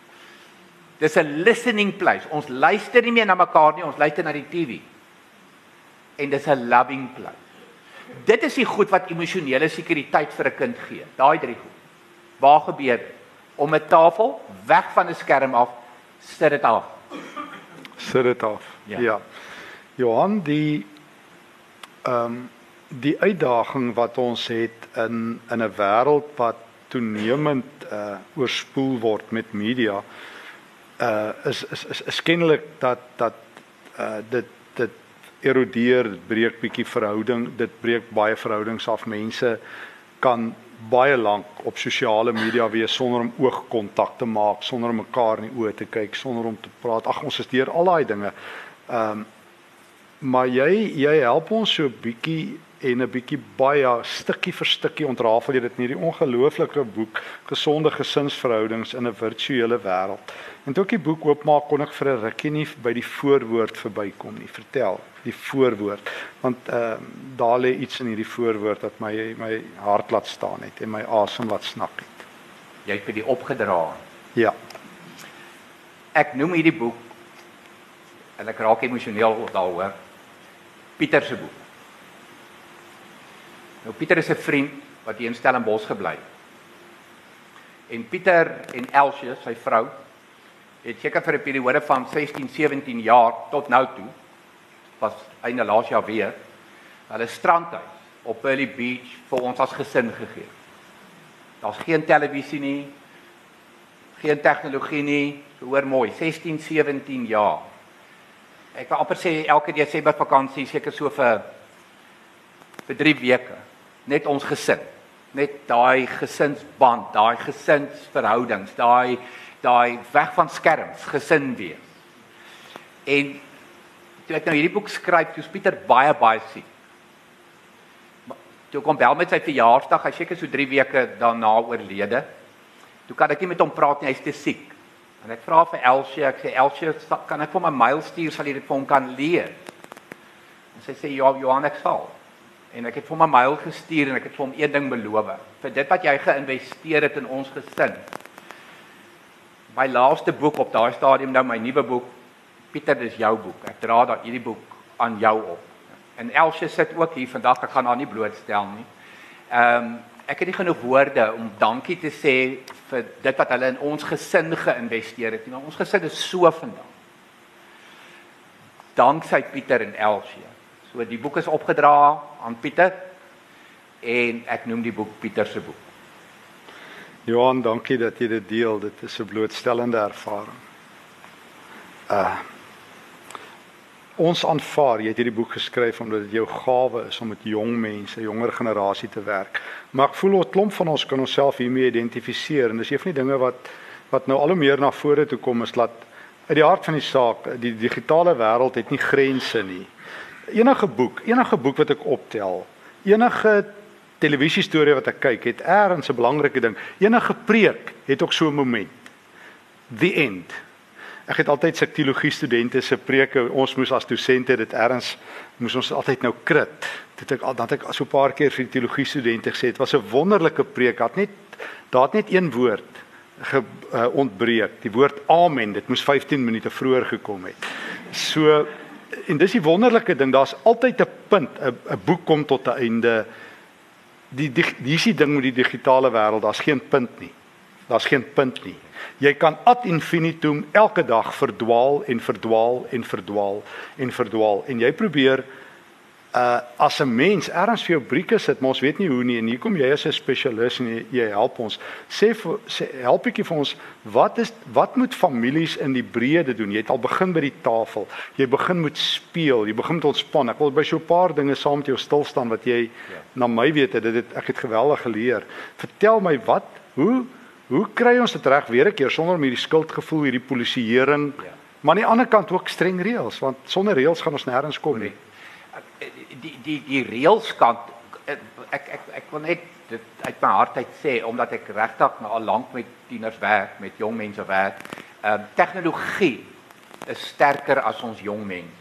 Dis 'n listening place. Ons luister nie meer na mekaar nie, ons luister na die T V. En dis 'n loving place. Dit is die goed wat emosionele sekuriteit vir 'n kind gee. Daai drie goed. Waar gebeur dit? Om 'n tafel weg van 'n skerm af, sit dit af. Sit dit af. Ja. ja. Johan, die ehm um, die uitdaging wat ons het in in 'n wêreld wat toenemend uh oorspoel word met media, uh is is is, is kennelik dat dat uh dit dit erodeer, dit breek bietjie verhouding, dit breek baie verhoudings af. Mense kan baie lank op sosiale media wees sonder om oogkontak te maak, sonder om mekaar in die oë te kyk, sonder om te praat. Ag, ons is deur al daai dinge. Ehm um, maar jy jy help ons so 'n bietjie en 'n bietjie baie stukkie vir stukkie ontrafel jy dit in hierdie ongelooflike boek Gesonde Gesinsverhoudings in 'n Virtuele Wêreld. En toe ek die boek oopmaak, kon ek vir 'n rukkie nie by die voorwoord verbykom nie. Vertel, die voorwoord, want ehm uh, daar lê iets in hierdie voorwoord wat my my hart laat staan het en my asem laat snak het. Jy het vir die opgedra. Ja. Ek noem hierdie boek en ek raak emosioneel daaroor. Pieter se boek. Nou Pieter is 'n vriend wat hier in Stellenbosch gebly. En Pieter en Elsje, sy vrou, het seker vir 'n periode van sestien, sewentien jaar tot nou toe, was einde laas jaar weer, hulle strandhuis op Pearly Beach vir ons as gesin gegee. Daar's geen televisie nie, geen tegnologie nie, hoor mooi, sestien, sewentien jaar. Ek wil amper sê elke Desember vakansie seker so vir vir drie weke, net ons gesin, net daai gesinsband, daai gesinsverhoudings, daai daai weg van skerms, gesin wees. En toe ek nou hierdie boek skryf, toe is Pieter baie baie siek. Toe kom bel met sy verjaarsdag, hy seker so drie weke daarna oorlede. Toe kan ek nie met hom praat nie, hy's te siek. En ek vra vir Elsje, ek sê Elsje, kan ek vir my mail stuur, sal jy dit vir hom kan lees? En sy sê ja, Johan, ek sal. En ek het vir hom 'n mail gestuur en ek het vir hom een ding beloof. Vir dit wat jy geïnvesteer het in ons gesin. My laaste boek op daai stadium, nou my nuwe boek, Pieter, dis jou boek. Ek dra daai hierdie boek aan jou op. En Elsje sit ook hier vandag, ek gaan haar nie blootstel nie. Ehm um, ek het nie genoeg woorde om dankie te sê vir dit wat hulle in ons gesin geïnvesteer het. Maar ons gesin is so vandag. Danksy Pieter en Elsje. So die boek is opgedra aan Pieter en ek noem die boek Pieter se boek. Johan, dankie dat jy dit deel. Dit is 'n blootstellende ervaring. Uh Ons aanvaar, jy het hierdie boek geskryf omdat dit jou gawe is om met jong mense, jonger generasie te werk. Maar ek voel 'n klomp van ons kan onsself hiermee identifiseer en dis een van die dinge wat wat nou al hoe meer na vore toe kom is dat uit die hart van die saak, die digitale wêreld het nie grense nie. Enige boek, enige boek wat ek optel, enige televisiestorie wat ek kyk, het ergens 'n belangrike ding. Enige preek het ook so 'n moment. The end. Ek het altyd sekteologie studente se preke, ons moes as dosente dit ergens moes ons altyd nou krit. Dit ek dat ek so 'n paar keer vir die teologie studente gesê het, was 'n wonderlike preek. Het net daar het net een woord ge, uh, ontbreek, die woord amen. Dit moes vyftien minute vroeër gekom het. So en dis die wonderlike ding, daar's altyd 'n punt, 'n 'n boek kom tot 'n einde. Die die dis die ding met die digitale wêreld, daar's geen punt nie. Daar's geen punt nie. Jy kan ad infinitum elke dag verdwaal en verdwaal en verdwaal en verdwaal en jy probeer uh as 'n mens ergens vir jou brieke sit, maar ons weet nie hoe nie en hier kom jy as 'n spesialis en jy, jy help ons. Sê, vir, sê help ek vir ons, wat is wat moet families in die breede doen? Jy het al begin by die tafel. Jy begin met speel, jy begin met ontspan. Ek wil by so 'n paar dinge saam met jou stil staan wat jy ja. na my weet dit het ek het geweldig geleer. Vertel my wat, hoe Hoe kry ons dit reg weer 'n keer sonder om hierdie skuldgevoel, hierdie polisieering, ja. maar aan die ander kant ook streng reëls, want sonder reëls gaan ons nêrens kom nie. Die die die reëls kant ek ek ek wil net dit uit my hart uit sê omdat ek regtig nou al lank met tieners werk, met jong mense werk. Ehm uh, tegnologie is sterker as ons jong mense.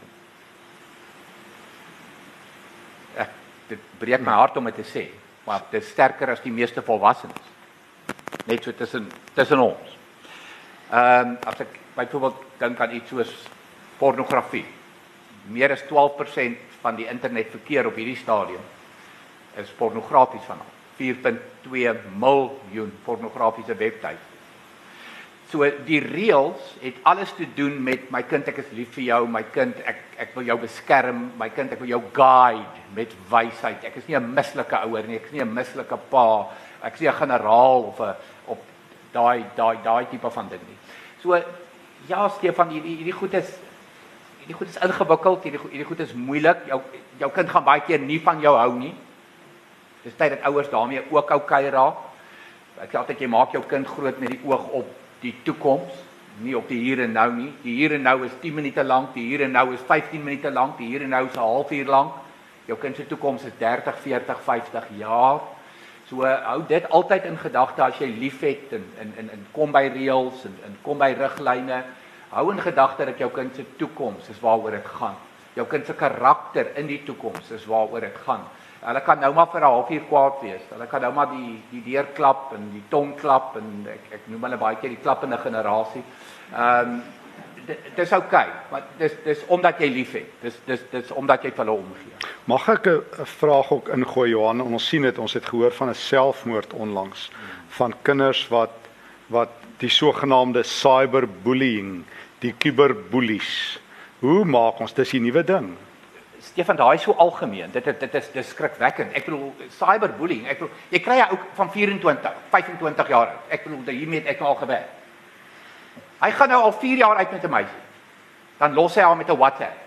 Ek dit breek my hart om dit te sê, maar dit is sterker as die meeste volwassenes. Net so tussen tussen ons. Ehm um, as ek byvoorbeeld dink aan iets soos pornografie. Meer as twaalf persent van die internetverkeer op hierdie stadium is pornografies vanaf. vier komma twee miljoen pornografiese webtuiste. So die reëls het alles te doen met my kind, ek is lief vir jou, my kind, ek ek wil jou beskerm, my kind, ek wil jou guide met wysheid. Ek is nie 'n mislike ouer nie, ek is nie 'n mislike pa, ek is nie 'n generaal of 'n op daai daai daai tipe van ding nie. So ja, Stefan, hierdie hierdie goed is hierdie goed is ingewikkeld, hierdie hierdie goed is moeilik. Jou jou kind gaan baie keer nie van jou hou nie. Dis tyd dat ouers daarmee ook oukei raak. Ek sê altyd jy maak jou kind groot met die oog op die toekoms, nie op die hier en nou nie. Die hier en nou is tien minute lank, die hier en nou is vyftien minute lank, die hier en nou is 'n halfuur lank. Jou kind se toekoms is dertig, veertig, vyftig jaar. So hou dit altyd in gedagte as jy liefhet en en en, en kom by reëls en, en kom by riglyne. Hou in gedagte dat jou kind se toekoms is waaroor dit gaan. Jou kind se karakter in die toekoms is waaroor dit gaan. Hulle kan nou maar vir 'n halfuur kwaad wees. Hulle kan nou maar die die deur klap en die tong klap en ek ek noem hulle baie keer die klappende generasie. Ehm um, dis oukei, maar dis dis omdat jy liefhet. Dis dis dis omdat jy vir hulle omgee. Mag ek 'n vraag ook ingooi, Johan? Ons sien dit, ons het gehoor van 'n selfmoord onlangs van kinders wat wat die sogenaamde cyberbullying, die kuberboelies. Hoe maak ons dis die nuwe ding? Stefan, daai is so algemeen. Dit dit, dit is dis skrikwekkend. Ek bedoel cyberbullying. Ek bedoel jy kry 'n ou van vyf en twintig, vyf en twintig jaar oud. Ek bedoel hiermee het ek al gewerk. Hy gaan nou al vier jaar uit met 'n meisie. Dan los hy haar met 'n WhatsApp.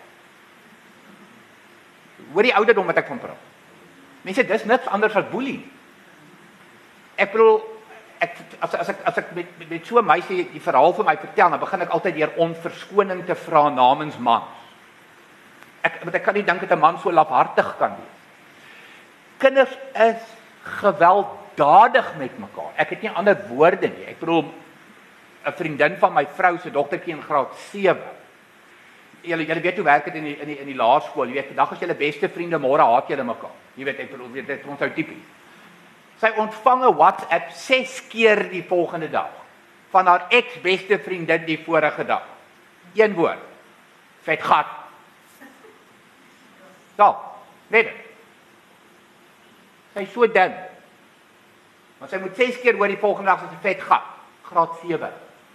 Hoor die ouderdom wat ek van praat. Mense, dis niks anders as boelie. Ek bedoel ek as as ek as ek met met, met so 'n meisie die verhaal vir my vertel, dan begin ek altyd deur om verskoning te vra namens mans. Ek want ek kan nie dink dat 'n man so lafhartig kan wees. Kinders is gewelddadig met mekaar. Ek het nie ander woorde nie. Ek bedoel 'n vriendin van my vrou se dogtertjie in graad sewe. Julle julle weet hoe werk dit in die in die in die laerskool. Jy weet, vandag is julle beste vriende, môre haat julle mekaar. Jy weet, ek bedoel, dit is ons ou tipies. Sy ontvang 'n WhatsApp ses keer die volgende dag van haar ex-beste vriendin die vorige dag. Een woord. Vet gat. Ja, weet dit. Sy is so ding. Maar sy moet ses keer hoor die volgende dag as 'n vet gat. Graad sewe.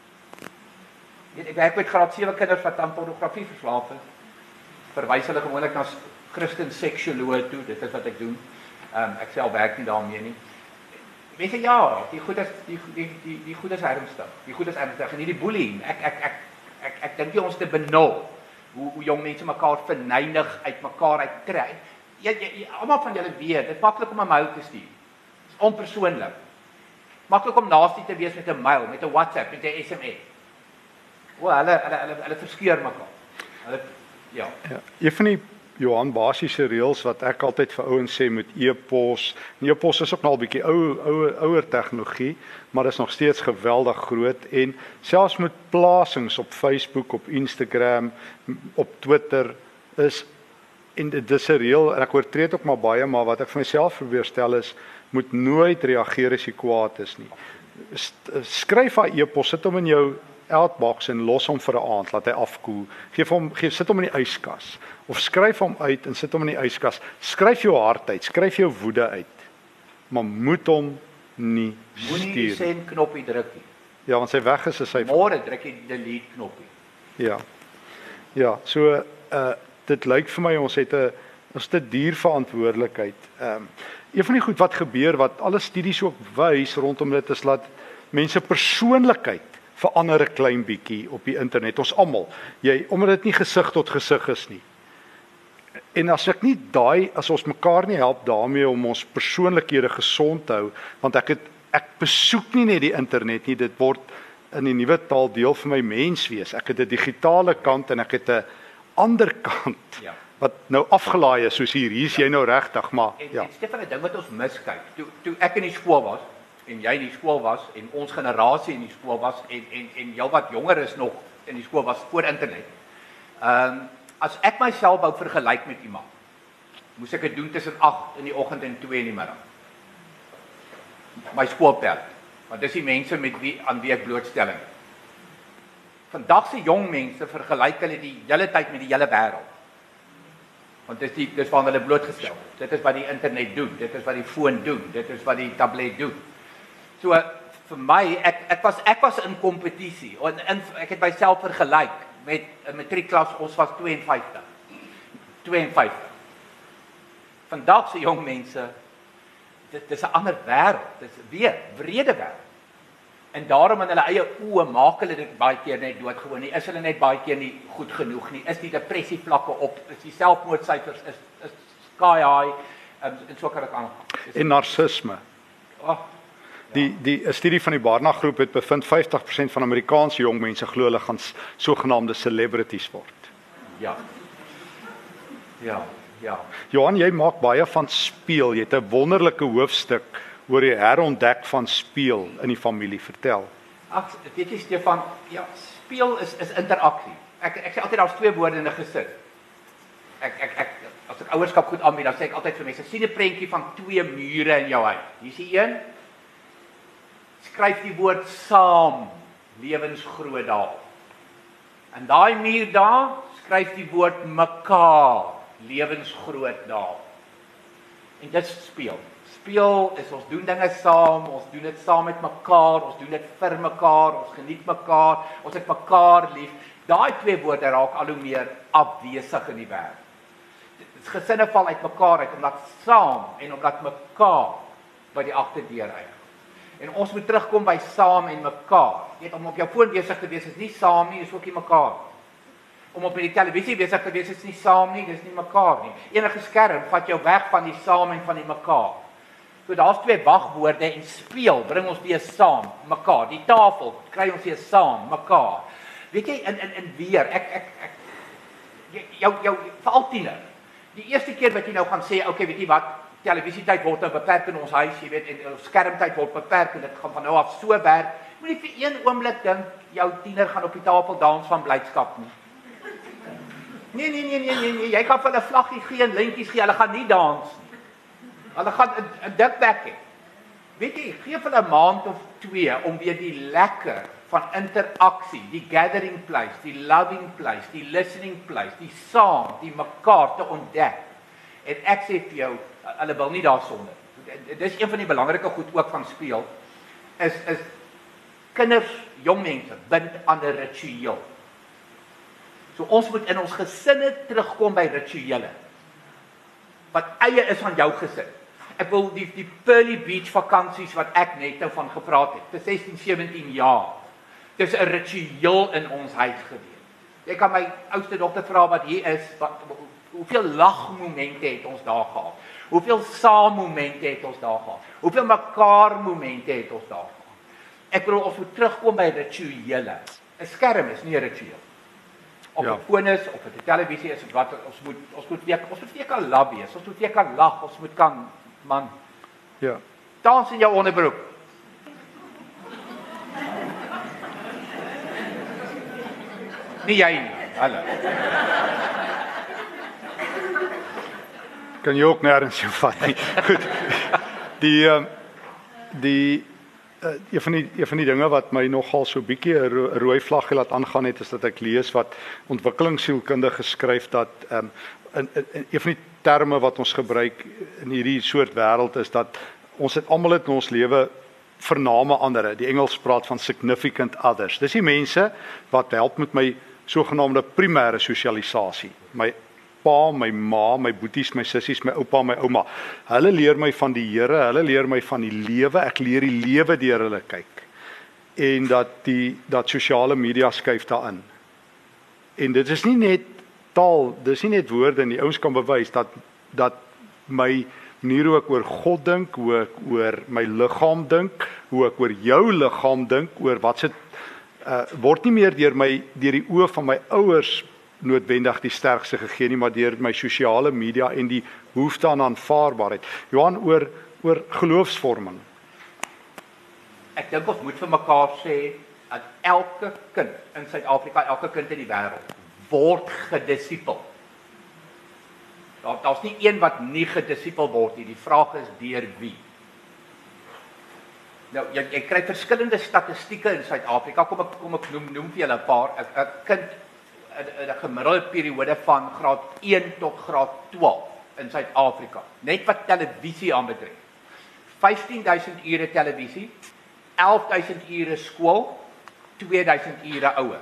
Weet, ek werk met graad sewe kinders wat aan pornografie verslaaf is. Verwys hulle gewoonlik na Christen seksuoloog toe. Dit is wat ek doen. Ehm um, ek self werk nie daarmee nie. Mense ja, die goed is die die die die goed is ernstig. Die goed is ernstig en nie die bullying. Ek ek ek ek ek dink jy ons te benul hoe hoe jong mense mekaar verneig uit mekaar uittrek. Jy, jy, jy almal van julle weet, dit is maklik om 'n mail te stuur. Dit is onpersoonlik. Maklik om naastie te wees met 'n mail, met 'n WhatsApp, met 'n S M S. O, hulle hulle hulle hulle verskeur mekaar. Hulle ja. Ja, een van die Johan basiese reëls wat ek altyd vir ouens sê met e-pos. E-pos is ook nog 'n bietjie ou ouer ouer tegnologie, maar dit is nog steeds geweldig groot en selfs met plasings op Facebook, op Instagram, op Twitter is en dit is 'n reël en ek oortree dit ook maar baie, maar wat ek vir myself probeer stel is moet nooit reageer as jy kwaad is nie. Skryf daai e-pos, sit hom in jou outbox en los hom vir 'n aand, laat hy afkoel. Geef hom, gee sit hom in die yskas of skryf hom uit en sit hom in die yskas. Skryf jou hart uit, skryf jou woede uit. Maar moet hom nie Moenie die stuur. send knoppie druk nie. Ja, want sy weg is, is hy Môre druk jy die delete knoppie. Ja. Ja, so uh dit lyk vir my ons het 'n ons het 'n dierverantwoordelikheid. Ehm um, een van die goed wat gebeur wat alle studies ook wys rondom dit is dat mense persoonlikheid verander 'n klein bietjie op die internet. Ons almal. Jy omdat dit nie gesig tot gesig is nie. En as ek nie daai as ons mekaar nie help daarmee om ons persoonlikhede gesond te hou, want ek het ek besoek nie net die internet nie, dit word in die nuwe taal deel van my menswees. Ek het 'n digitale kant en ek het 'n ander kant Ja. wat nou afgelaai is soos hier. Hier is jy nou regtig, maar En, ja. en Stefan, 'n ding wat ons miskyk. Toe toe ek in die skool was en jy in die skool was en ons generasie in die skool was en en en jou wat jonger is nog in die skool was voor internet. Ehm um, as ek myself wou vergelyk met iemand, moes ek dit doen tussen agt in die oggend en twee in die middag. My skoolperd. Want dis die mense met wie aan wie ek blootstelling het. Vandag se jong mense vergelyk hulle die hele tyd met die hele wêreld. Want dis die dis waar hulle blootgestel. Dit is wat die internet doen, dit is wat die foon doen, dit is wat die tablet doen. So vir my ek ek was ek was in kompetisie en in, ek het myself vergelyk met 'n matriekklas, ons was twee en vyftig. twee en vyftig. Vandag se jong mense dit dis 'n ander wêreld. Dis weer wrede wêreld. En daarom in hulle eie oë maak hulle dit baie keer net doodgewoon nie. Is hulle net baie keer nie goed genoeg nie. Is die depressie vlakke op, is die selfmoordsyfers is is sky high en, en so kan ek aangaan. En narcisme. Oh, Die die 'n studie van die Barna groep het bevind vyftig persent van Amerikaanse jong mense glo hulle gaan sogenaamde celebrities word. ja. Ja, ja. Johan, jy maak baie van speel. Jy het 'n wonderlike hoofstuk oor die herontdek van speel in die familie. Vertel. Ag, weet jy Stefan, ja, speel is is interaksie. Ek ek sê altyd daar's twee woorde in 'n gesin. Ek ek ek as ek ouerskap goed aanbied, dan sê ek altyd vir mense, sien 'n prentjie van twee mure in jou huis. Hier's die een. Skryf die woord saam, lewensgroot daar. En daai muur daar skryf die woord mekaar, lewensgroot daar. En dit speel. Speel is ons doen dinge saam, ons doen dit saam met mekaar, ons doen dit vir mekaar, ons geniet mekaar, ons het mekaar lief. Daai twee woorde raak al hoe meer afwesig in die wêreld. Gesinne val uit mekaar uit omdat saam en omdat mekaar by die agterdeur eindig. En ons moet terugkom by saam en mekaar. Jy weet, om op jou foon besig te wees is nie saam nie, is ook nie mekaar. Om op die televisie besig te wees is nie saam nie, dis nie mekaar nie. Enige skerm vat jou weg van die saam en van die mekaar. So daar's twee wagwoorde en speel bring ons weer saam, mekaar. Die tafel kry ons weer saam, mekaar. Weet jy in in in weer ek ek ek jou jou veral tiener. Die eerste keer wat jy nou gaan sê, okay, weet jy wat, televisietyd word nou beperk in ons huis, jy weet, en skermtyd word beperk en dit gaan van nou af so werk. Moenie vir een oomblik dink jou tiener gaan op die tafel dans van blydskap nie. Nee, nee, nee, nee, nee, nee, jy kan vir hulle vlaggie gee en lintjies gee, hulle gaan nie dans nie. Hulle gaan 'n dik bek hê. Weet jy, gee vir 'n maand of twee om weer die lekker van interaksie, die gathering place, die loving place, die listening place, die saam, die mekaar te ontdek. En ek sê vir jou, hulle wil nie daarsonder. Dit is een van die belangrike goed ook van speel, is is kinders, jong mense bind aan 'n ritueel. So ons moet in ons gesinne terugkom by rituele. Wat eie is van jou gesin. Ek wil die die Pearly Beach vakansies wat ek net nou van gepraat het, vir sestien, sewentien jaar. Dis 'n ritueel in ons huis gewees. Jy kan my oudste dogter vra wat hier is, wat hoeveel lagmomente het ons daar gehad? Hoeveel saammomente het ons daar gehad? Hoeveel mekaar momente het ons daar gehad? Ek bedoel ons moet terugkom by rituele. 'n Skerm is nie 'n ritueel. Of Ja. 'n foon is of 'n televisie is of wat ons moet ons moet weer ons moet weer kan lag wees. Ons moet weer kan lag, ons moet kan man Ja. dans in jou onderbroek. Nie jy nie. Hallo. Kan jy ook nêrens jou vat nie. Goed. Die ehm die uh, een van die een van die dinge wat my nogal so bietjie 'n ro rooi vlaggie laat aangaan het, is dat ek lees wat ontwikkelingssielkunde geskryf dat ehm um, in, in een van die terme wat ons gebruik in hierdie soort wêreld is dat ons het almal in ons lewe vername ander. Die Engels praat van significant others. Dis die mense wat help met my sogenaamde primêre sosialisasie. My pa, my ma, my boeties, my sissies, my oupa, my ouma. Hulle leer my van die Here, hulle leer my van die lewe. Ek leer die lewe deur hulle kyk. En dat die dat sosiale media skuif daarin. En dit is nie net taal, dis nie net woorde nie. Ouens kan bewys dat dat my manier hoe ek oor God dink, hoe ek oor my liggaam dink, hoe ek oor jou liggaam dink, oor wat se uh, word nie meer deur my deur die oë van my ouers noodwendig die sterkste gegee nie, maar deur my sosiale media en die behoefte aan aanvaarbaarheid. Johan, oor oor geloofsvorming. Ek dink ons moet vir mekaar sê dat elke kind in Suid-Afrika, elke kind in die wêreld word gedisipel. Daar daar's nie een wat nie gedisipel word nie. Die vraag is deur wie. Nou jy, jy kry verskillende statistieke in Suid-Afrika. Kom ek kom ek noem noem vir julle 'n paar. 'n kind in 'n gemiddelde periode van graad een tot graad twaalf in Suid-Afrika. Net wat televisie aanbetref. vyftien duisend ure televisie, elf duisend ure skool, twee duisend ure ouer.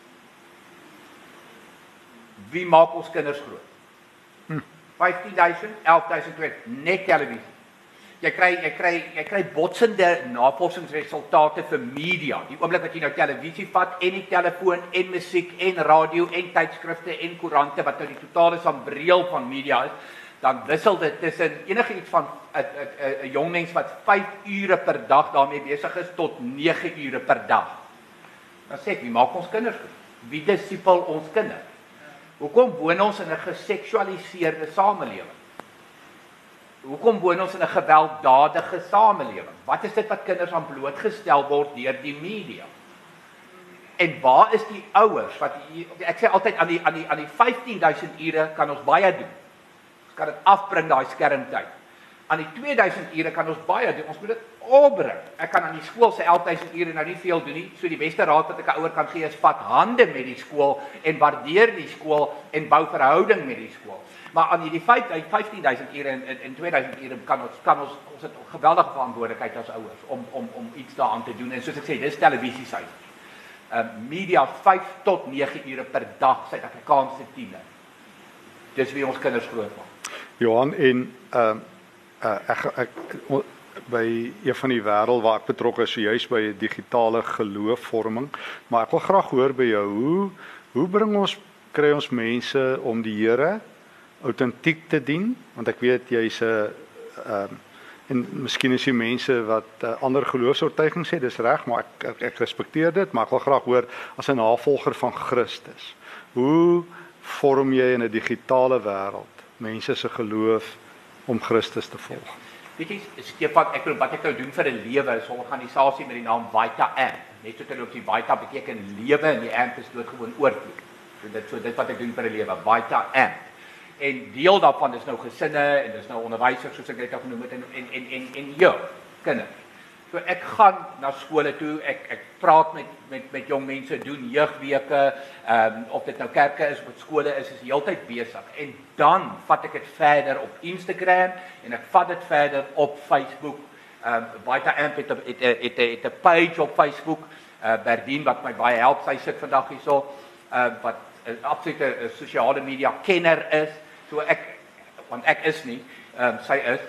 Wie maak ons kinders groot? Hm. vyftien duisend, elf duisend net televisie. Jy kry jy kry jy kry botsende navorsingsresultate vir media. Die oomblik wat jy nou televisie vat en die telefoon en musiek en radio en tydskrifte en koerante wat nou die totale sambreel van media is, dan wissel dit tussen enigiets van 'n 'n 'n jong mens wat vyf ure per dag daarmee besig is tot nege ure per dag. Dan sê ek, wie maak ons kinders groot? Wie disipel ons kinders? Hoekom woon ons in 'n geseksualiseerde samelewing? Hoekom woon ons in 'n gewelddadige samelewing? Wat is dit wat kinders aan blootgestel word deur die media? En waar is die ouers wat ek sê altyd aan die aan die aan die vyftien duisend ure kan ons baie doen. Ons kan dit afbring daai skermtyd. Aan die twee duisend ure kan ons baie doen. Ons moet dit opbring. Ek kan aan die skool se elf duisend ure nou nie veel doen nie. So die beste raad wat ek 'n ouer kan gee is vat hande met die skool en waardeer die skool en bou verhouding met die skool. Maar aan hierdie vyftien duisend ure en, en, en twee duisend ure kan ons kan ons ons het 'n geweldige verantwoordelikheid as ouers om om om iets daaraan te doen. En soos ek sê, dis televisie se. Uh, media vyf tot nege ure per dag, Suid-Afrikaanse tiene. Dis wie ons kinders groot maak. Johan, en uh, uh, ek, ek, by een van die wêreld waar ek betrokke is, juis by digitale geloofvorming, maar ek wil graag hoor by jou, hoe, hoe bring ons, kry ons mense om die Here autentiek te dien? Want ek weet jy's 'n uh, en miskien is die mense wat uh, ander geloofsoortuigings sê, dis reg, maar ek, ek, ek respekteer dit, maar ek wil graag hoor, as 'n navolger van Christus, hoe vorm jy in 'n digitale wêreld mense se geloof om Christus te volg? Weet jy, Stefan, ek wil wat ek nou doen vir 'n lewe is 'n organisasie met die naam Vita Amp. Net so terwyl op die Vita beteken lewe en die Amp is doodgewoon oorvloed. So dit so dit wat ek doen vir 'n lewe, Vita Amp. En deel daarvan is nou gesinne en dis nou onderwysers soos ek dit al genoem het en en en en, en ja, kinders. So ek gaan na skole toe, ek ek praat met met met jong mense, doen jeugweke, ehm um, of dit nou kerke is of skole is, is heeltyd besig. En dan vat ek dit verder op Instagram en ek vat dit verder op Facebook. Ehm um, Vita Amp het 'n het 'n het 'n het 'n page op Facebook. Uh Berdien wat my baie help, sy sit vandag hierso. Uh wat 'n absolute sosiale media kenner is. So ek want ek is nie, ehm um, sy is.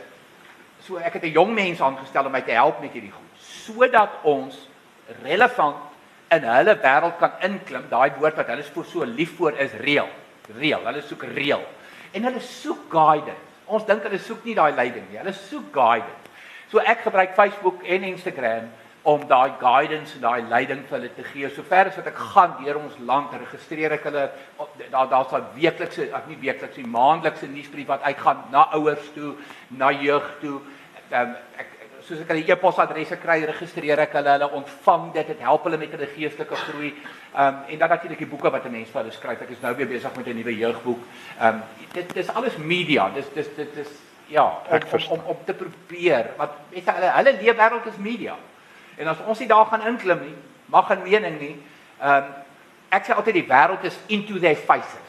So ek het 'n jong mens aangestel om my te help met hierdie goed, sodat ons relevant in hulle wêreld kan inklim. Daai woord wat hulle so lief voor is reël. Reël. Hulle soek reël. En hulle soek guidance. Ons dink hulle soek nie daai leiding nie. Hulle soek guidance. So ek gebruik Facebook en Instagram om daai guidance en daai leiding vir hulle te gee. Sover as wat ek gaan deur ons land, registreer ek hulle, daar daar's 'n weeklikse, ag nie weeklikse, maandelikse nuusbrief wat uitgaan na ouers toe, na jeug toe. Um, ek soos ek hulle e-posadresse kry, registreer ek hulle, hulle ontvang dit, dit help hulle met hulle geestelike groei. Um, en dan natuurlik die boeke wat 'n mens vir hulle skryf. Ek is nou weer besig met 'n nuwe jeugboek. Um, dit dis alles media. Dis dis dit is ja, om om, om om te probeer. Want weet jy, hulle hulle leefwêreld is media. En as ons nie daar gaan inklim nie, mag 'n mening nie. Ehm um, ek sê altyd die wêreld is into their faces.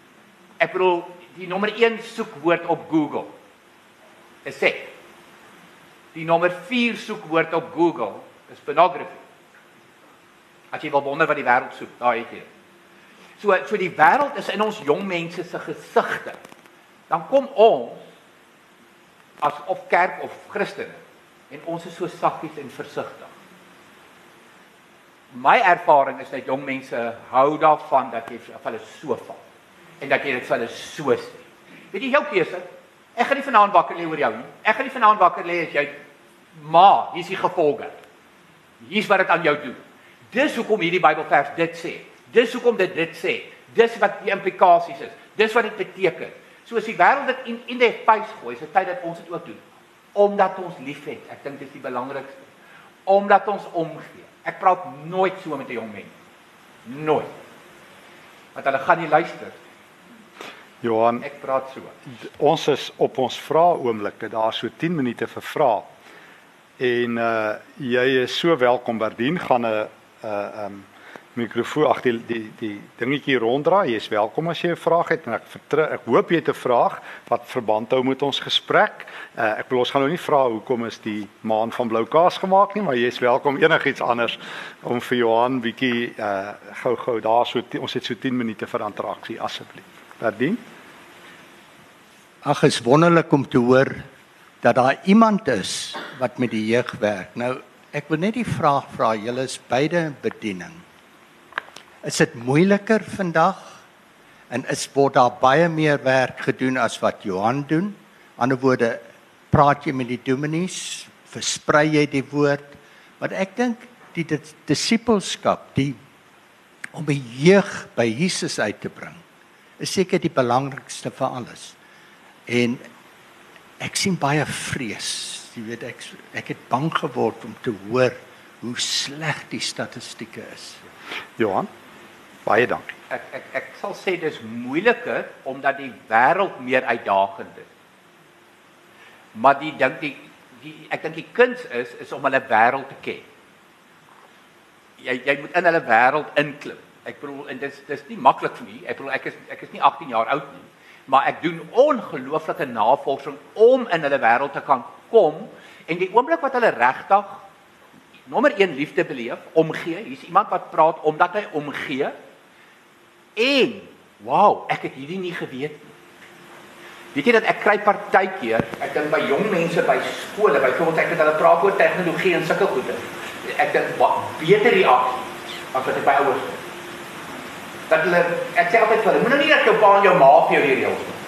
Ek bedoel die nommer een soekwoord op Google is seks. Die nommer vier soekwoord op Google is pornography. As jy wil wonder wat die wêreld soek, daar het jy. So so die wêreld is in ons jong mense se gesigte. Dan kom ons as of kerk of Christene en ons is so saggies en versigtig. My ervaring is dat jong mense hou daarvan dat jy vir hulle so val en dat jy dit vir hulle so sê. Weet jy jou keuse? Ek gaan nie vanaand wakker lê oor jou nie. Ek gaan nie vanaand wakker lê as jy maar hier's die gevolge. Hier's wat dit aan jou doen. Dis hoekom hierdie Bybelvers dit sê. Dis hoekom dit dit sê. Dis wat die implikasies is. Dis wat dit beteken. So as die wêreld dit in in die face gooi, is dit tyd dat ons dit ook doen. Omdat ons liefhet. Ek dink dis die belangrikste. Omdat ons omgee. Ek praat nooit so met 'n jong mens. Nooit. Want hulle gaan nie luister. Johan, ek praat so. Ons is op ons vrae oomblikke, daar so tien minute vir vrae. En uh jy is so welkom. Berdien gaan 'n uh um mikrofoon ag die die die dingetjie ronddraai. Jy is welkom as jy 'n vraag het en ek vertrou, ek hoop jy het 'n vraag wat verband hou met ons gesprek. Uh ek wil ons gaan nou nie vra hoekom is die maan van blou kaas gemaak nie, maar jy is welkom enigiets anders om vir Johan bietjie uh gou-gou daar so ons het so tien minute vir interaksie asseblief. Berdien? Ag, is wonderlik om te hoor dat daar iemand is wat met die jeug werk. Nou, ek wil net die vraag vra, julle is beide bediening. Is dit moeiliker vandag en is word daar baie meer werk gedoen as wat Johan doen? Ander woorde, praat jy met die dominees, versprei jy die woord? Want ek dink die disippelskap, die om die jeug by Jesus uit te bring, is seker die belangrikste vir alles. En ek sien baie vrees. Jy weet ek ek het bang geword om te hoor hoe sleg die statistieke is. Johan, baie dankie. Ek ek ek sal sê dis moeiliker omdat die wêreld meer uitdagend is. Maar die dink die, die ek dink die kuns is is om hulle wêreld te ken. Jy jy moet in hulle wêreld inklim. Ek bedoel en dis dis nie maklik vir my. Ek bedoel ek is ek is nie agttien jaar oud nie, maar ek doen ongelooflike navorsing om in hulle wêreld te kan kom en die oomblik wat hulle regtig nommer een liefde beleef, omgee. Hier's iemand wat praat omdat hy omgee. En wow, ek het hierdie nie geweet nie. Weet jy dat ek kry partykeer, ek dink by jong mense by skole, byvoorbeeld ek het hulle praat oor tegnologie en sulke goede. Ek dink wat beter reaksie as wat ek by ouers het. Dat hulle ek sê altyd vir hulle, moenie net jou pa en jou ma vir jou hier reëls nie.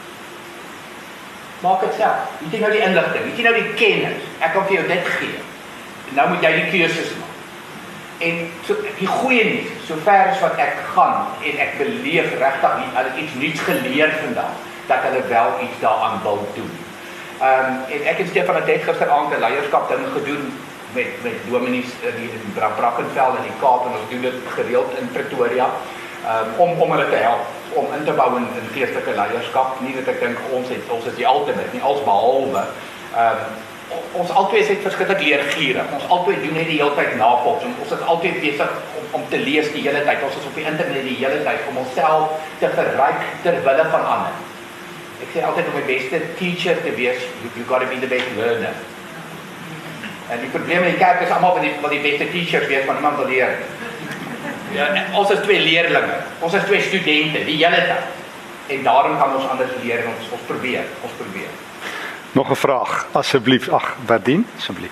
Maak dit self. Weet jy nou die inligting, weet jy nou die kennis. Ek kan vir jou dit gee. Nou moet jy die keuses maak. En so, die goeie nuus, sover as wat ek gaan en ek beleef regtig nie, hulle het iets nuuts geleer vandag, dat hulle wel iets daaraan wil doen. Ehm um, en ek en Stefan het net gisteraand 'n leierskap ding gedoen met met dominees in in Brackenfell in die Kaap en ons doen dit gereeld in Pretoria um, om om hulle te help om in te bou in, in geestelike leierskap. Nie dat ek dink ons het ons is die ultimate nie, als behalwe ehm um, ons albei het verskillende leergierig. Ons albei doen net die hele tyd navorsing. Ons is altyd besig om, om te lees die hele tyd. Ons is op die internet die hele tyd om onsself te verryk ter wille van ander. Ek sê altyd om die beste teacher te wees, you, you got to be the best learner. En die probleem in die kerk is almal wat die, wat die beste teachers wees, maar niemand wil leer. Ja, ons is twee leerlinge. Ons is twee studente die hele tyd. En daarom kan ons anders leer en ons ons probeer, ons probeer. Nog 'n vraag, asseblief. Ag, Berdien, asseblief.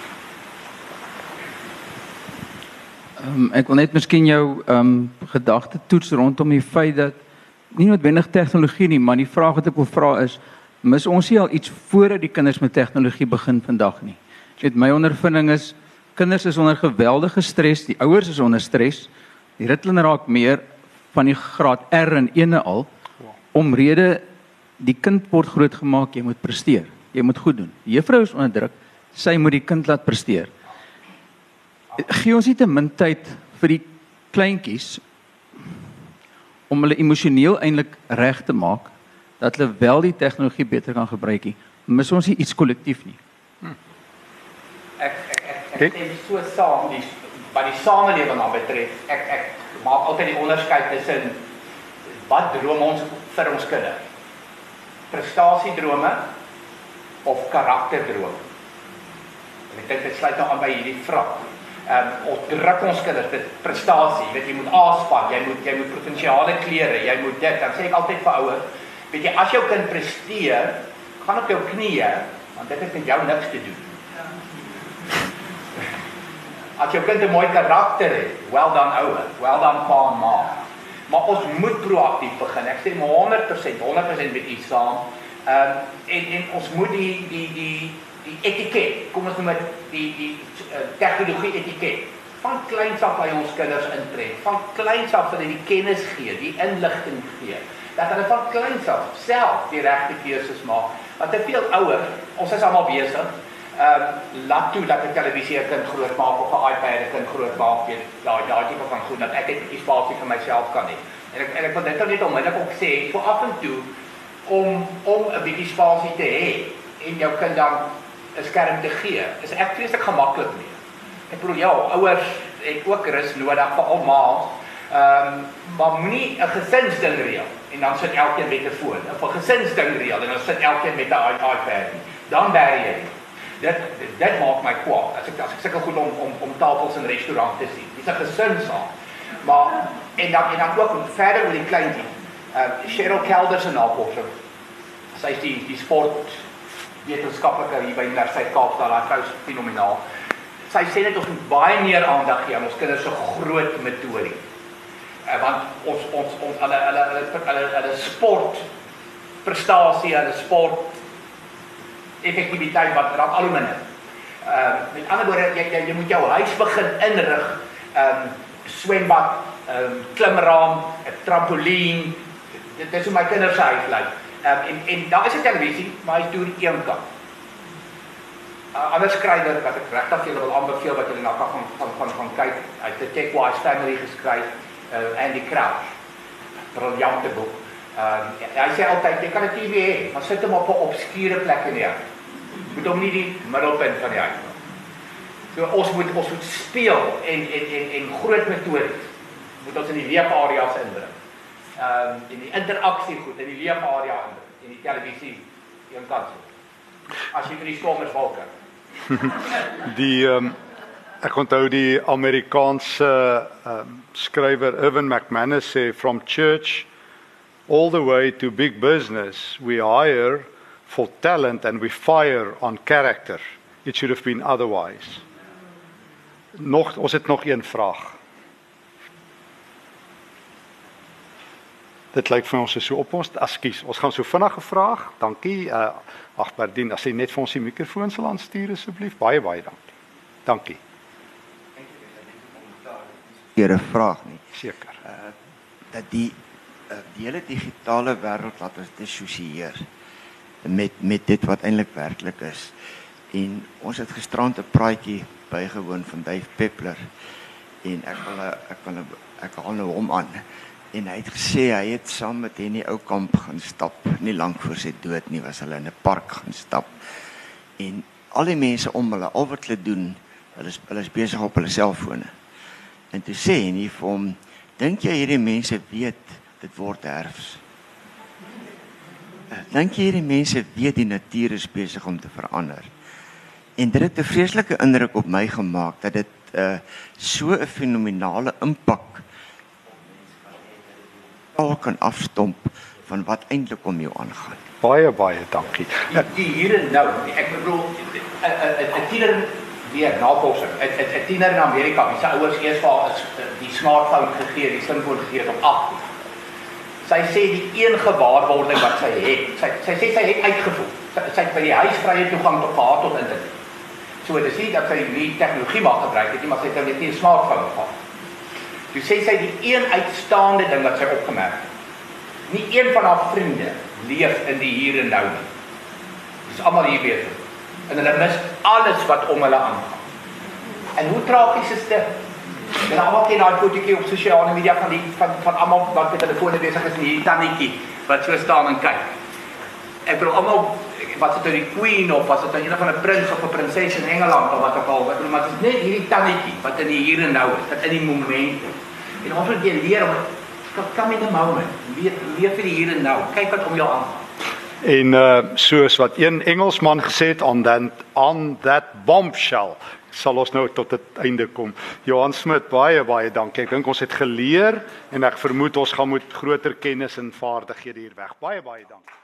Um, ek wil net miskien jou um, gedagte toets rondom die feit dat nie noodwendig tegnologie nie, maar die vraag wat ek wil vra is, mis ons nie al iets voordat die kinders met tegnologie begin vandag nie? Net my ondervinding is, kinders is onder geweldige stres, die ouers is onder stres, die Ritalin raak meer van die graad R en ene al, omrede die kind word grootgemaak, jy moet presteer. Jy moet goed doen. Die juffrou is onder druk, sy moet die kind laat presteer. Gee ons nie te min tyd vir die kleintjies om hulle emosioneel eintlik reg te maak dat hulle wel die tegnologie beter kan gebruik nie. Mis ons nie iets kollektief nie. Hmm. Ek ek ek ek stem so saam die wat die samelewing aan betref. Ek ek maak altyd die onderskeid tussen wat droom ons vir ons kinders? Prestasiedrome of karakterdrome. En ek dink dit sluit nou aan by hierdie vraag. Ehm um, ons druk ons kinders met prestasie, weet jy moet aanspan, jy moet jy moet provinsiale klere, jy moet dit. Dan sê ek altyd vir ouers, weet jy as jou kind presteer, gaan op jou knieë, want dit het met jou niks te doen. As jou kind 'n mooi karakter het, well done ouer, well done pa en ma. Maar ons moet proaktief begin. Ek sê maar honderd persent, honderd persent met u saam. Ehm um, en en ons moet die die die die etiket, kom ons noem dit die die uh, tegnologie etiket van kleins af by ons kinders intrek. Van kleins af hulle die kennis gee, die inligting gee. Dat hulle van kleins af self die regte keuses maak. Want te veel ouers, ons is almal besig. Ehm um, laat toe dat 'n televisie 'n kind groot maak of 'n iPad 'n kind groot maak, weet daai daai tipe van goed dat ek net 'n spasie vir myself kan hê. En ek en ek wil dit net onmiddellik ook sê, so af en toe om om 'n bietjie spasie te hê en jou kind dan 'n skerm te gee, is ek vreeslik gemaklik mee. Ek bedoel ja, ouers het ook rus nodig vir almal. Ehm um, maar moenie 'n gesinsding reël en dan sit elkeen met 'n foon. Of 'n gesinsding reël en dan sit elkeen met 'n iPad. Dan bær jy. Dit dit maak my kwaad. As ek as ek sukkel goed om om om tafels in restaurante te sien. Dis 'n gesinssaak. Maar en dan en dan ook verder met die kleintjie. Uh Cheryl Kelder se navorsing. Sy is die die sport wetenskaplike hier by Universiteit Kaapstad, daai vrou is fenomenaal. Sy sê net ons moet baie meer aandag gee aan ons kinders se groot metode. Uh, want ons ons ons hulle hulle hulle hulle hulle sport prestasie, hulle sport effektiwiteit wat raak al hoe minder. Ehm uh, met ander woorde jy, jy jy moet jou huis begin inrig. Ehm um, swembad, ehm um, klimraam, 'n trampolien. Dit is hoe my kinders se huis lyk. Ehm um, en en daar is 'n televisie, maar hy's deur die een kant. 'n uh, Ander skrywer wat ek regtig julle wil aanbeveel wat julle na kan gaan gaan gaan gaan kyk, hy het 'n Tech-Wise Family geskryf, uh, Andy Crouch. Briljante boek. Ehm um, hy sê altyd jy kan 'n T V hê, maar sit hom op 'n obskure plek neer. Moet hom nie die middelpunt van die huis maak. So ons moet ons moet speel en en en en groot metodes moet ons in die leefareas inbring. Ehm um, en die interaksie goed in die leefarea inbring en die televisie een kant. As jy vir die stormers wil kyk. Die um, ek onthou die Amerikaanse um, skrywer Irvin McManus sê from church all the way to big business we hire for talent and we fire on character. It should have been otherwise. Nog ons het nog een vraag. Dit lyk vir ons is so op ons, ekskuus, ons gaan so vinnige vraag. Dankie. Uh, ag Berdien, as jy net vir ons die mikrofoon sal aanstuur asseblief. Baie baie dankie. Dankie. Hier 'n vraag nie. Seker. Uh dat die uh, die hele digitale wêreld laat ons dissosieer met met dit wat eintlik werklik is. En ons het gisterand 'n praatjie bygewoon van Dave Peppler en ek wil ek wil ek haal nou hom aan. En hy het gesê hy het saam met Henny Oukamp gaan stap, nie lank voor sy dood nie, was hulle in 'n park gaan stap. En al die mense om hulle, al wat hulle doen, hulle is, hulle is besig op hulle selfone. En toe sê Henny vir hom, dink jy hierdie mense weet dit word herfs? Dink jy hierdie mense weet die natuur is besig om te verander? En dit het 'n vreeslike indruk op my gemaak dat dit uh, so 'n fenominale impak al kan afstomp van wat eintlik om jou aangaan. Baie baie dankie. Die, die hier en nou, ek bedoel 'n tiener weer navorsing, 'n tiener in Amerika, wie se ouers eers vir haar die smartphone gegee, die slimfoon gegee op agt. Sy sê die een gewaarwording wat sy het, sy sy sê sy het uitgevoer. Sy, sy het by die huis vrye toegang tot gehad tot internet. So dit is nie dat sy nie tegnologie mag gebruik het nie, maar sy het net nie 'n smartphone gehad. Toe sê sy die een uitstaande ding wat sy opgemerk het. Nie een van haar vriende leef in die hier en nou nie. Dis almal hier besig. En hulle mis alles wat om hulle aangaan. En hoe tragies is dit? En almal ken daai fotootjie op sosiale media van die van van almal wat met hulle fone besig is en hierdie tannetjie wat so staan en kyk. Ek bedoel almal wat dit nou die queen of was dit nou een van 'n prins of 'n prinses in Engeland of wat ook al, wat maar dit is net hierdie tannetjie wat in die hier en nou is, wat in die moment is. En ons moet jy leer om come in the moment, leef leef vir die hier en nou, kyk wat om jou aangaan. En uh, soos wat een Engelsman gesê het on that, on that bombshell, sal ons nou tot het einde kom. Johan Smit, baie baie dankie. Ek dink ons het geleer en ek vermoed ons gaan moet groter kennis en vaardighede hier weg. Baie baie dankie.